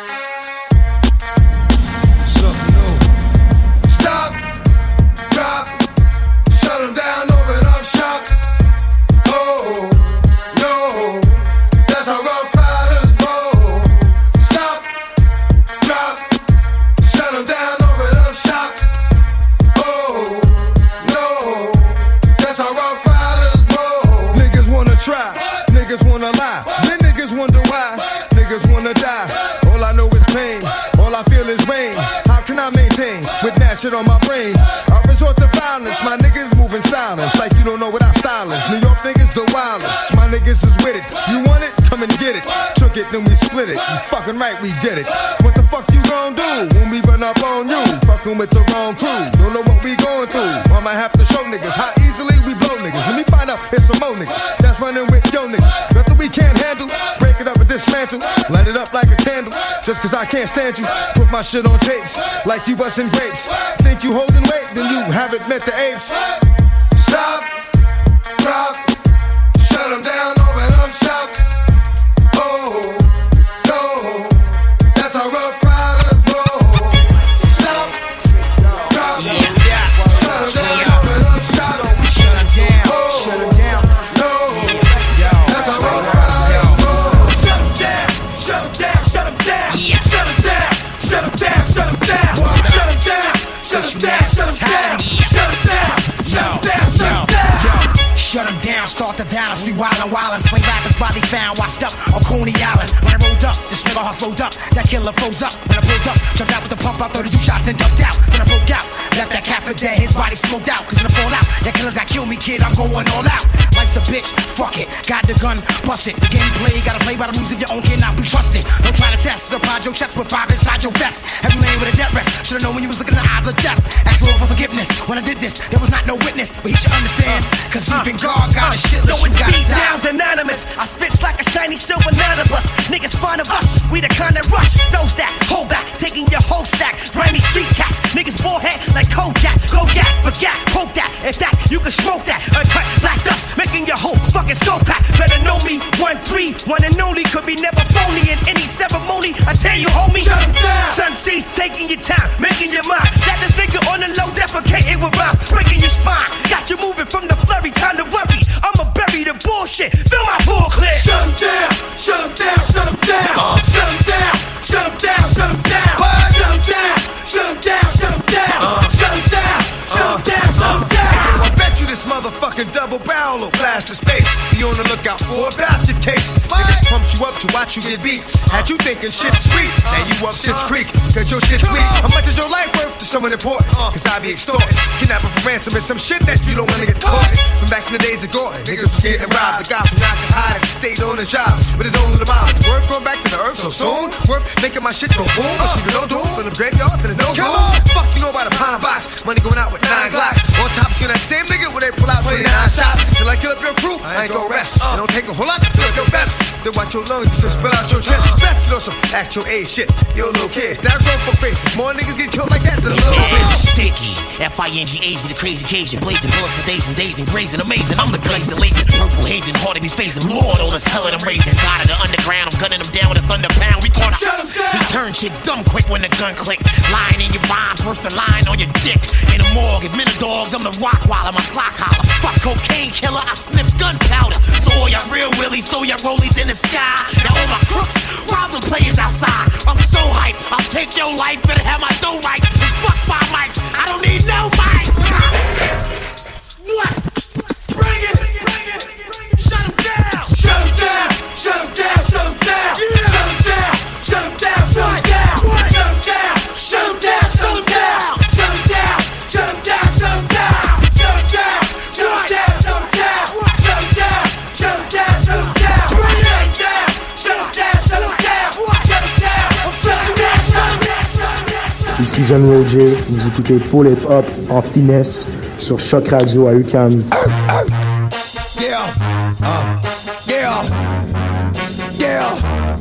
Something new. Stop, drop, shit on my brain. I resort to violence, my niggas moving silence. Like you don't know what our style is. New York niggas the wildest, my niggas is with it. You want it? Come and get it. Took it, then we split it. You fucking right, we did it. What the fuck you gon' do when we run up on you? Fucking with the wrong crew. Don't know what we going through. I might have to show niggas how easily we blow niggas. Let me find out it's some more niggas that's running with yo niggas. Nothing we can't handle. Break it up and dismantle. Light it up like a candle. Just cause I can't stand you. Put my shit on tapes like you bustin' grapes. Think you holding weight, then you haven't met the apes. Stop, drop, shut them down, open up shop. Oh, no, that's how Rough Riders roll. Stop, drop, shut them down, open up shop. Shut them down, shut them down. No, that's how Rough Riders roll. Shut them down, shut them down, shut them down. Shut them down, shut them down, shut them down. Shut them down, shut them down, shut them down. Shut them down, shut them down, shut them down. Shut them down, start the violence, we wildin', wildin'. Swing rappers, body found, washed up on Coney Island. When I rolled up, this nigga heart slowed up. That killer froze up. When I pulled up, jumped out with the pump out, 32 shots and ducked out. Then I broke out, left that cat for dead, his body smoked out. Cause in the fallout, that killers got killed me, kid, I'm going all out. Life's a bitch, fuck it, got the gun, bust it. The game play, gotta play by the rules of your own, cannot be trusted. Don't try to test, surprise your chest with 5 inside your vest. Every lane with a death rest, should've known when you was looking in the eyes of death. Ask Lord for forgiveness, when I did this, there was not no witness. But he should understand, cause even God got a shit. No, it's beat-downs anonymous. I spit like a shiny silver nanobus. Niggas fond of us, we the kind that rush. Those that hold back, taking your whole stack. Grimy street cats, niggas bullhead like Kojak. Kojak, forget, poke that. In fact, you can smoke that. Uncut black dust, making your whole fucking skull pack. Better know me, 1-3, one and only. Could be never phony in any ceremony. I tell you, homie, shut them down. Sun seas, taking your time, making your mind. That this nigga on the low, defecating with rhymes, breaking your spine. Got you moving from the flurry, time to worry. I'ma bury the bullshit, fill my full clip. Shut them down, shut them down, shut them down. Shut them down, shut them down, shut them down. Shut them down, shut them down, shut them down. Shut them down, shut them down, shut them down. I bet you this motherfucking double barrel will blast his face. Be on the lookout for a basket case. Niggas pumped you up to watch you get beat. Had you thinking shit's sweet, now you up shit's creek, cause your shit's weak. How much is your life worth to someone important? Cause I be extorted, kidnapping for ransom and some shit that you don't wanna get caught. From back in the days of Gordon, niggas was getting robbed. The guy from Knockers hiding, stayed on his job with his own little mom. It's worth going back to the earth so soon, worth making my shit go boom. But even no doom, from the graveyard to the no doom. Fuck you know about a pine box, money going out with 9 Glocks. On top of you, that same nigga where they pull out 29 shots. Till I kill up your crew, I ain't gon' rest. It don't take a whole lot to fill up your vest. Then watch your lungs just spill out your chest. Best get on some actual A shit. Yo, little kids, that grown for faces. More niggas get killed like that than a little bitch. Sticky, F-I-N-G-H, the crazy Cajun. Blazing bullets for days and days and grazing. Amazing, I'm the glazing, lacing. Purple hazing, hard to be facing. Lord, all this hell that I'm raising. God of the underground, I'm gunning them down with a thunder pound. We caught him. He turned shit dumb quick when the gun clicked. Lying in your rhymes, worse than lying on your dick. In the morgue, if men are dogs, I'm the rock while I'm a clock holler. Fuck cocaine killer, I sniff gunpowder. So all y'all real willies, throw your rollies in the sky. Now all my crooks, problem players outside. I'm so hype, I'll take your life, better have my dough right. And fuck 5 mics, I don't need no mic. What? Bring it, bring it. Shut him down. Shut him down, shut him down, shut him down. Yeah. Shut him down, shut him down, shut him down. Shut him down, shut him down, shut him down. Shut him down, shut him down, shut him down. Shut him down, shut him down, shut him down. Shut him down, shut him down, shut him down. Shut him down, shut him down, shut him down. Shut him down, shut him down. Ici John Roger, vous écoutez Pull It Up en finesse sur Choc Radio à UQAM. Yeah, yeah, yeah,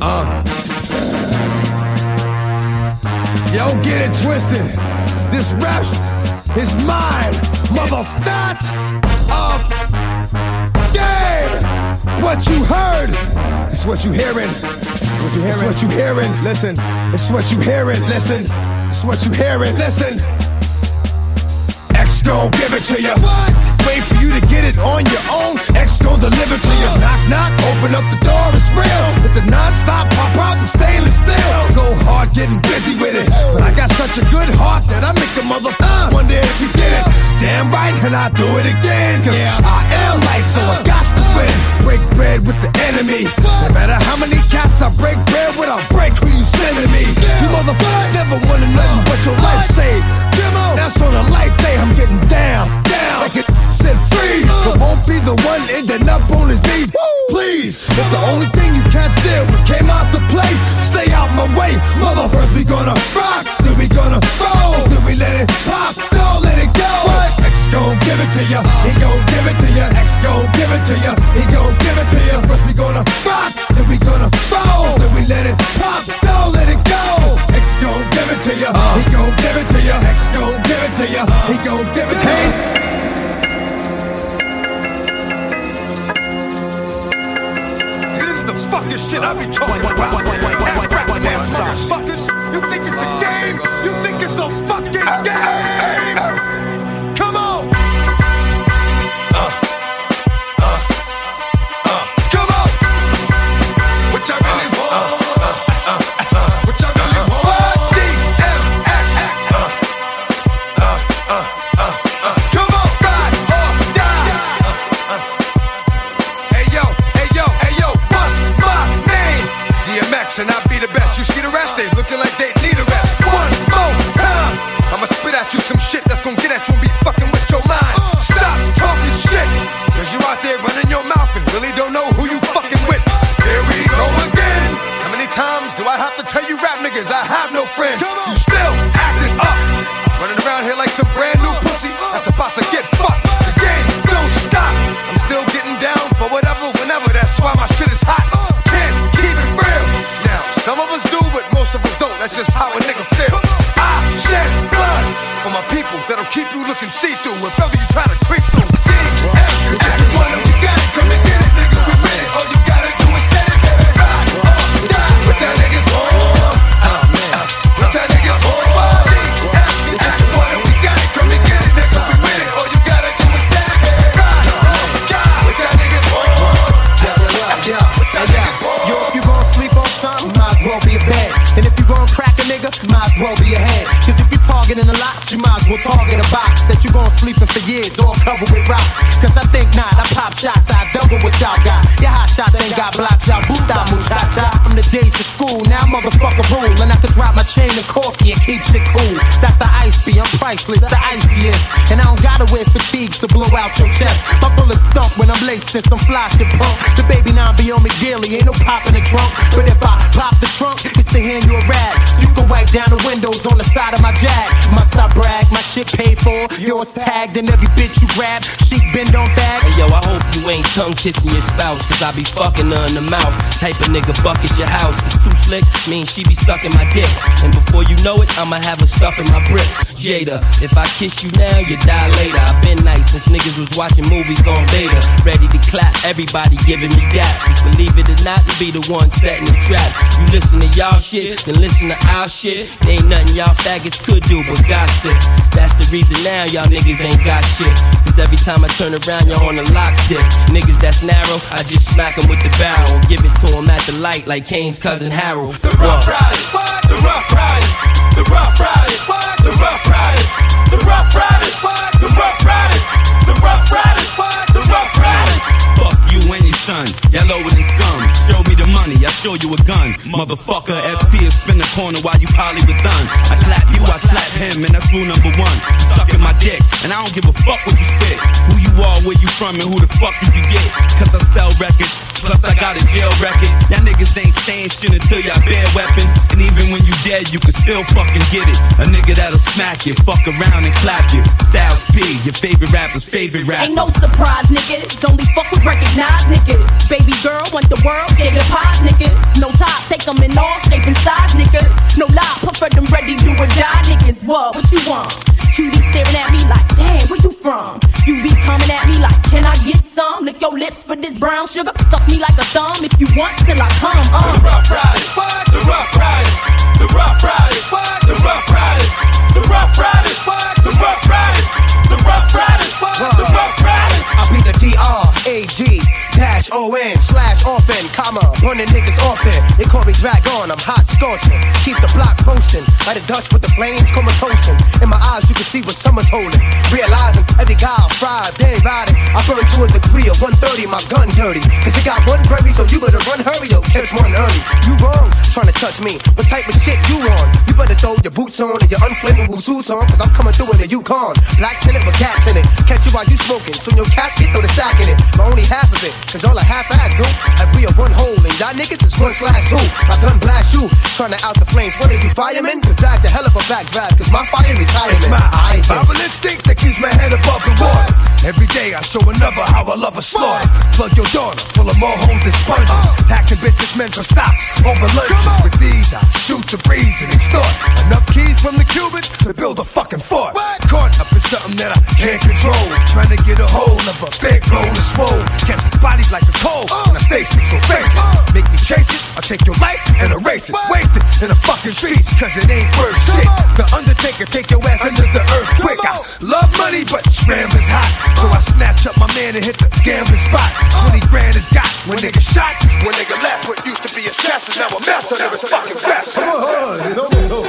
Yo, get it twisted. This rap is mine, mother. Start of game. What you heard is what you hearing. It's what you hearing. Listen, it's what you hearing. Listen, it's what you hearing. Listen. X gon' give it to you. Wait for you to get it on your own. X gon' deliver to you. Knock, knock, open up the door, it's real. With the non-stop pop out from stainless steel. Go hard getting busy with it. But I got such a good heart that I make a mother wonder if you get it. Damn right, and I do it again. Cause I am life, so I got to win. Break bread with the enemy. No matter how many cats I break bread with, I'll break who you see. sending me. You motherfuckers never wanna nothing but your life saved. Demo, that's on a life day, I'm getting down. Like it said freeze, but won't be the one ending up on his knees. Please, if the only thing you can't steal was came out to play, stay out my way. Motherfuckers, we gonna rock, then we gonna roll, then we let it pop, don't let it go. X gon' give it to ya, he gon' give it to ya. X gon' give it to ya, he gon' give it to ya. First we gonna rock, then we gonna roll, then we let it pop, don't let it go. X gon' give it to ya, he gon' give it to ya. X gon' give it to ya, he gon' give it to ya. Fucking shit I be talking about. Motherfuckers, you think it's a game? You think it's a fucking game? Come on. Come on. What y'all really want? What y'all really want? DMX. Come on, ride or die. Hey yo, hey yo, hey yo, what's my name? DMX and I be the best. You see the rest? They looking like they need a rest. One more time, I'ma spit at you some shit that's gonna get at you and be fucking with your mind. Stop talking shit, cause you out there running your mouth and really don't know who you fucking with. There we go again. How many times do I have to tell you rap niggas I have no friends? You still acting up, running around here like some brand new pussy that's about to get fucked. The game don't stop. I'm still getting down for whatever, whenever. That's why my shit is hot. Can't keep it real. Now, some of us do, but most of us don't. That's just how a nigga feel. I shed blood for my people that'll keep you looking see-through if ever you try to creep through. Everyone that we got it, come and get it, nigga, we with it. All you gotta do is set it, ride or die. What that niggas want? What that niggas want? Everyone that we got it, come and get it, nigga, we with it. All you gotta do is set it, ride or die. What that niggas want? What that niggas want? Yo, if you gon' sleep on something, might as well be a bed. And if you gon' crack a nigga, might as well be a head. Cause if you targeting a lot, you might as well target a box that you gon' sleep in for years, all covered with rocks. Cause I think not, I pop shots, I double what y'all got. Your hot shots ain't got blocks, y'all boot out muchacha. From the days of school, now motherfucker rule. And I can drop my chain and corky and keep shit cool. That's the ice be, I'm priceless, the iciest. And I don't gotta wear fatigues to blow out your chest. My bullets thump when I'm laced in some fly shit pump. The baby now be on me daily, ain't no pop in the trunk. But if I pop the trunk, it's to hand you a rag. So you can wipe down the windows on the side of my Jag. Must I brag, my shit paid for, yours tagged, and every bitch you grab, she bend on bag. Hey yo, I hope you ain't tongue kissing your spouse, cause I be fucking her in the mouth. Type of nigga bucket your house. It's too slick, mean she be sucking my dick. And before you know it, I'ma have her stuffing my bricks. Jada, if I kiss you now, you die later. I've been nice since niggas was watching movies on beta. Ready to clap, everybody giving me daps. Cause believe it or not, be the one setting the trap. You listen to y'all shit, then listen to our shit. There ain't nothing y'all faggots could do but gossip. That's the reason now y'all niggas ain't got shit. Cause every time I turn around, you're on the lock stick. Niggas that's narrow, I just smack them with the barrel. Give it to them at the light like Kane's cousin Harold. The Rough Riders, the Rough Riders, the Rough Riders, the Rough Riders, the Rough Riders, the Rough Riders, the Rough Riders, the Rough Riders. Fuck you and your son, y'all lower than scum. Show me the money, I show you a gun. Motherfucker, SP is spin the corner while you probably with done. I clap you, I clap him, and that's rule number one. You sucking my dick, and I don't give a fuck what you spit. Who you are, where you from, and who the fuck you can get. Cause I sell records, plus I got a jail record. Y'all niggas ain't saying shit until y'all bear weapons. And even when you dead, you can still fucking get it. A nigga that'll smack you, fuck around and clap you. Styles P, your favorite rapper's favorite rapper. Ain't no surprise, nigga. Only fuck with recognized, nigga. Baby girl want the world, shake the pies, nigga. No top, take them in all shape and size, nigga. No lie, prefer them ready, do or die, niggas. What you want? Cutie staring at me like, damn, where you from? You be coming at me like, can I get some? Lick your lips for this brown sugar. Suck me like a thumb if you want till I come. The Rough Riders, the Rough Riders, the Rough Riders, the Rough Riders, the Rough Riders, the Rough Riders, the Rough Riders, the Rough Riders. I'll be the D-R-A-G O-N/often, comma, running niggas often. They call me Dragon, I'm hot scorching. Keep the block posting, like a Dutch with the flames comatosing. In my eyes you can see what summer's holding. Realizing every guy I fried, they ain't riding. I burn to a degree of 130, my gun dirty. Cause it got one berry, so you better run hurry up, catch one early. You wrong, trying to touch me. What type of shit you on? You better throw your boots on and your unflammable suits on. Cause I'm coming through in the Yukon. Black tenant with cats in it. Catch you while you smoking. So in your casket, throw the sack in it. But only half of it. Cause y'all are half-ass, dude. Like we are one hole and y'all niggas is 1/2. My gun blast you. Trying to out the flames. What are you, firemen? Could drive a hell of a backdraft. Cause my fire retirement. It's my survival instinct that keeps my head above the water. Every day I show another how I love a slaughter. Plug your daughter full of more holes than sponges. Taxing businessmen for stocks over lunches. With these I shoot the breeze and extort enough keys from the Cubans to build a fucking fort. Caught up in something that I can't control. Trying to get a hold of a big roll of swole. Catch bodies like a cold in a station, so face it. Make me chase it, I'll take your life and erase it. Waste it in the fucking streets, cause it ain't worth shit. The Undertaker take your ass under the earth quick. I love money, but scrambling's hot. So I snatch up my man and hit the gambling spot. 20 grand is got when nigga shot. When nigga left, what used to be his chest is now a mess under his fucking vest. Come on, it's over.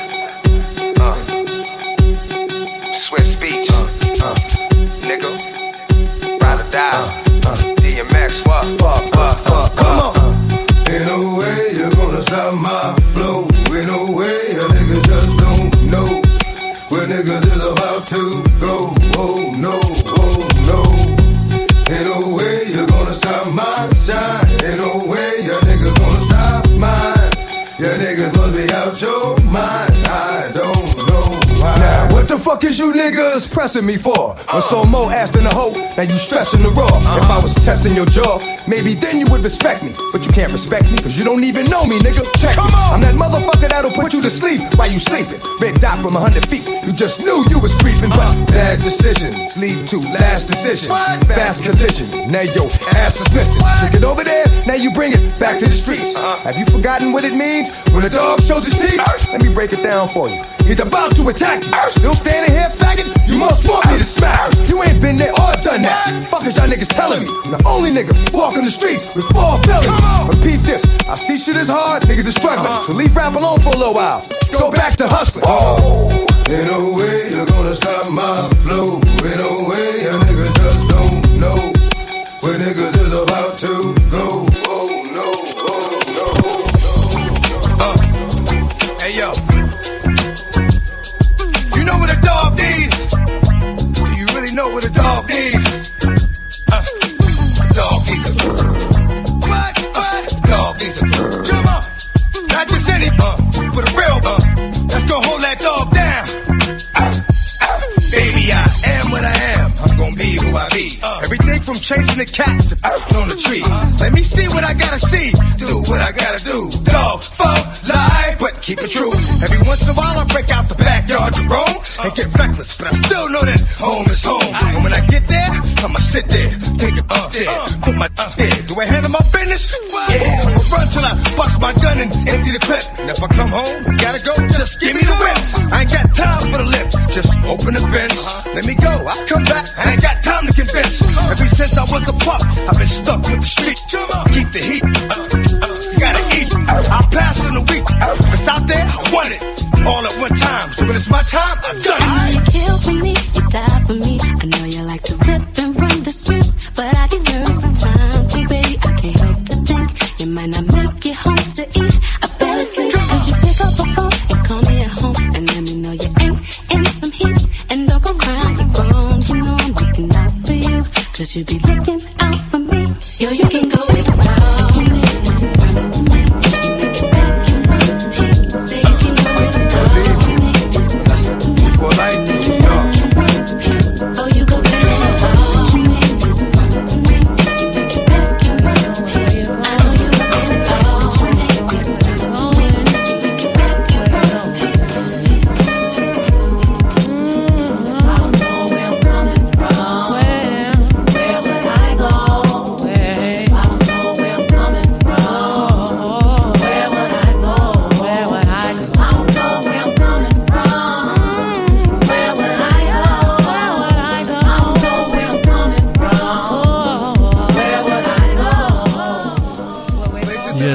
Swiss Beach, nigga, ride or die, DMX, what? Come on. Ain't no way you're gonna stop my flow. Ain't no way a nigga just don't know where niggas is about to go. Oh no, oh no. Ain't no way you're gonna stop my shine. Ain't no way your niggas gonna stop mine. Your niggas must be out your mind. I don't know why. Now, what the fuck is you niggas pressing me for? When so more ass than a hoe, now you stressing the raw. If I was testing your jaw, maybe then you would respect me. But you can't respect me, cause you don't even know me, nigga. Check me. I'm that motherfucker that'll put you to sleep while you sleeping. Red dot from 100 feet, you just knew you was creeping. But bad decisions lead to last decisions. Fast collision, now your ass is missing. Took it over there, now you bring it back to the streets. Have you forgotten what it means when a dog shows his teeth? Let me break it down for you. He's about to attack you. Still standing here, faggot? You must want me to smack. You ain't been there or done that. Fuck is y'all niggas telling me? I'm the only nigga walking the streets with 4 felonies. Repeat this. I see shit is hard, niggas is struggling. So leave rap alone for a little while. Go back to hustling. Oh, ain't no way you're gonna stop my flow. Ain't no way a nigga just don't know where niggas is about to go. Oh no, oh no. Hey yo. You know what a dog needs? Do you really know what a dog needs? Dog needs a what? Dog needs a come on. Not just any but a real that's gonna hold that dog down. Baby, I am what I am. I'm gonna be who I be. Everything from chasing the cat to on the tree. Let me see what I gotta see. Do what I gotta do. Dog, fuck, lie, but keep it true. Every once in a while I break out the backyard to roam and get reckless, but I still know that home is home. And when I get there, I'ma sit there, take it up there, put my there. Do I handle my business? Yeah, I'ma run till I bust my gun and empty the clip. And if I come home and gotta go, just give me the whip. I ain't got time for the lip, just open the fence. Let me go, I'll come back, I ain't got time to convince. Ever since I was a pup, I've been stuck with the street. Keep the heat, gotta eat. I'll pass in a week. If it's out there, I want it all at one time. So when it's my time, I'm done. You kill for me, you die for me. I know you like to rip and run the streets, but I get nervous sometimes too, baby. I can't help to think you might not make it home to eat. I barely sleep. Could you pick up the phone and call me at home and let me know you ain't in some heat? And don't go crying, you're grown. You know I'm looking out for you, cause you be looking out for me. Yo, you can go with the wild. Promise to me, you make it back and run to peace. Say you can go with the dog. Promise to me, for life. oh, you go back to the wild. You make this promise to me, you make it back and run to peace. I know you look in the dog. You make this promise to me, you make it back and run to peace. I don't know where I'm coming from. Where would I go? I don't know where I'm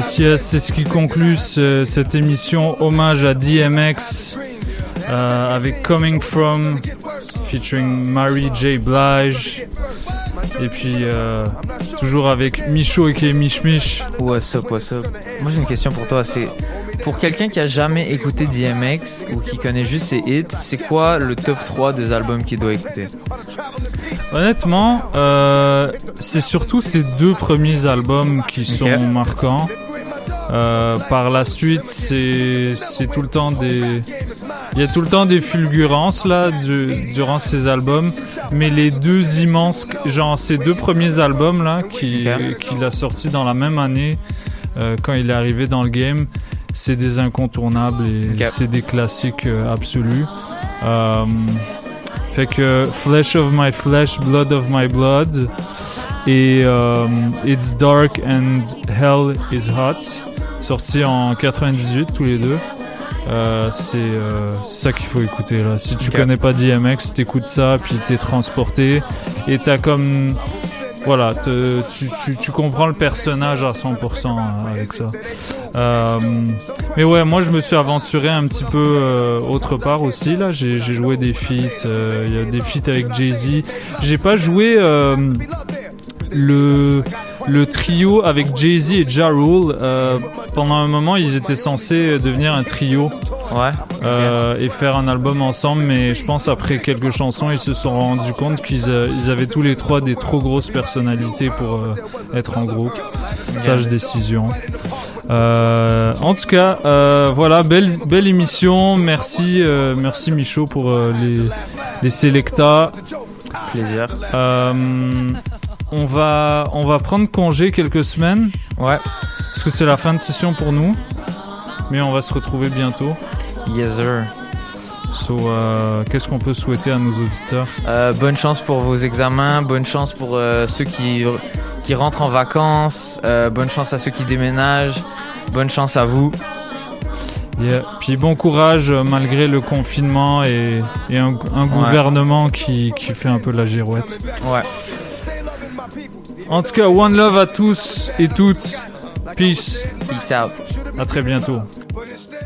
c'est ce qui conclut cette émission hommage à DMX avec Coming From featuring Mary J. Blige et puis toujours avec Micho et Mich Mich. What's up? Moi j'ai une question pour toi, c'est pour quelqu'un qui a jamais écouté DMX ou qui connaît juste ses hits, c'est quoi le top 3 des albums qu'il doit écouter? Honnêtement, c'est surtout ces 2 premiers albums qui sont marquants. Par la suite, c'est tout le temps il y a tout le temps des fulgurances là durant ces albums, mais les 2 immenses, genre ces 2 premiers albums là qu'il a sortis dans la même année quand il est arrivé dans le game, c'est des incontournables et c'est des classiques absolus. Fait que Flesh of My Flesh, Blood of My Blood et It's Dark and Hell is Hot, sortis en 98 tous les deux. C'est ça qu'il faut écouter là. Si tu connais pas DMX, t'écoutes ça puis t'es transporté et t'as comme voilà, tu comprends le personnage à 100% avec ça. Mais ouais, moi je me suis aventuré un petit peu autre part aussi là. J'ai joué des feats, il y a des feats avec Jay-Z. J'ai pas joué le trio avec Jay-Z et Ja Rule. Pendant un moment, ils étaient censés devenir un trio. Et faire un album ensemble, mais je pense après quelques chansons, ils se sont rendus compte qu'ils avaient tous les 3 des trop grosses personnalités pour être en groupe. Sage décision. En tout cas, voilà, belle émission. Merci Micho pour les Selecta. Plaisir. On va prendre congé quelques semaines. Ouais. Parce que c'est la fin de session pour nous. Mais on va se retrouver bientôt. Yes sir. So, qu'est-ce qu'on peut souhaiter à nos auditeurs? Bonne chance pour vos examens, bonne chance pour ceux qui rentrent en vacances, bonne chance à ceux qui déménagent, bonne chance à vous. Yeah. Puis bon courage malgré le confinement et un gouvernement qui fait un peu la girouette. Ouais. En tout cas, one love à tous et toutes. Peace. Peace out. À très bientôt.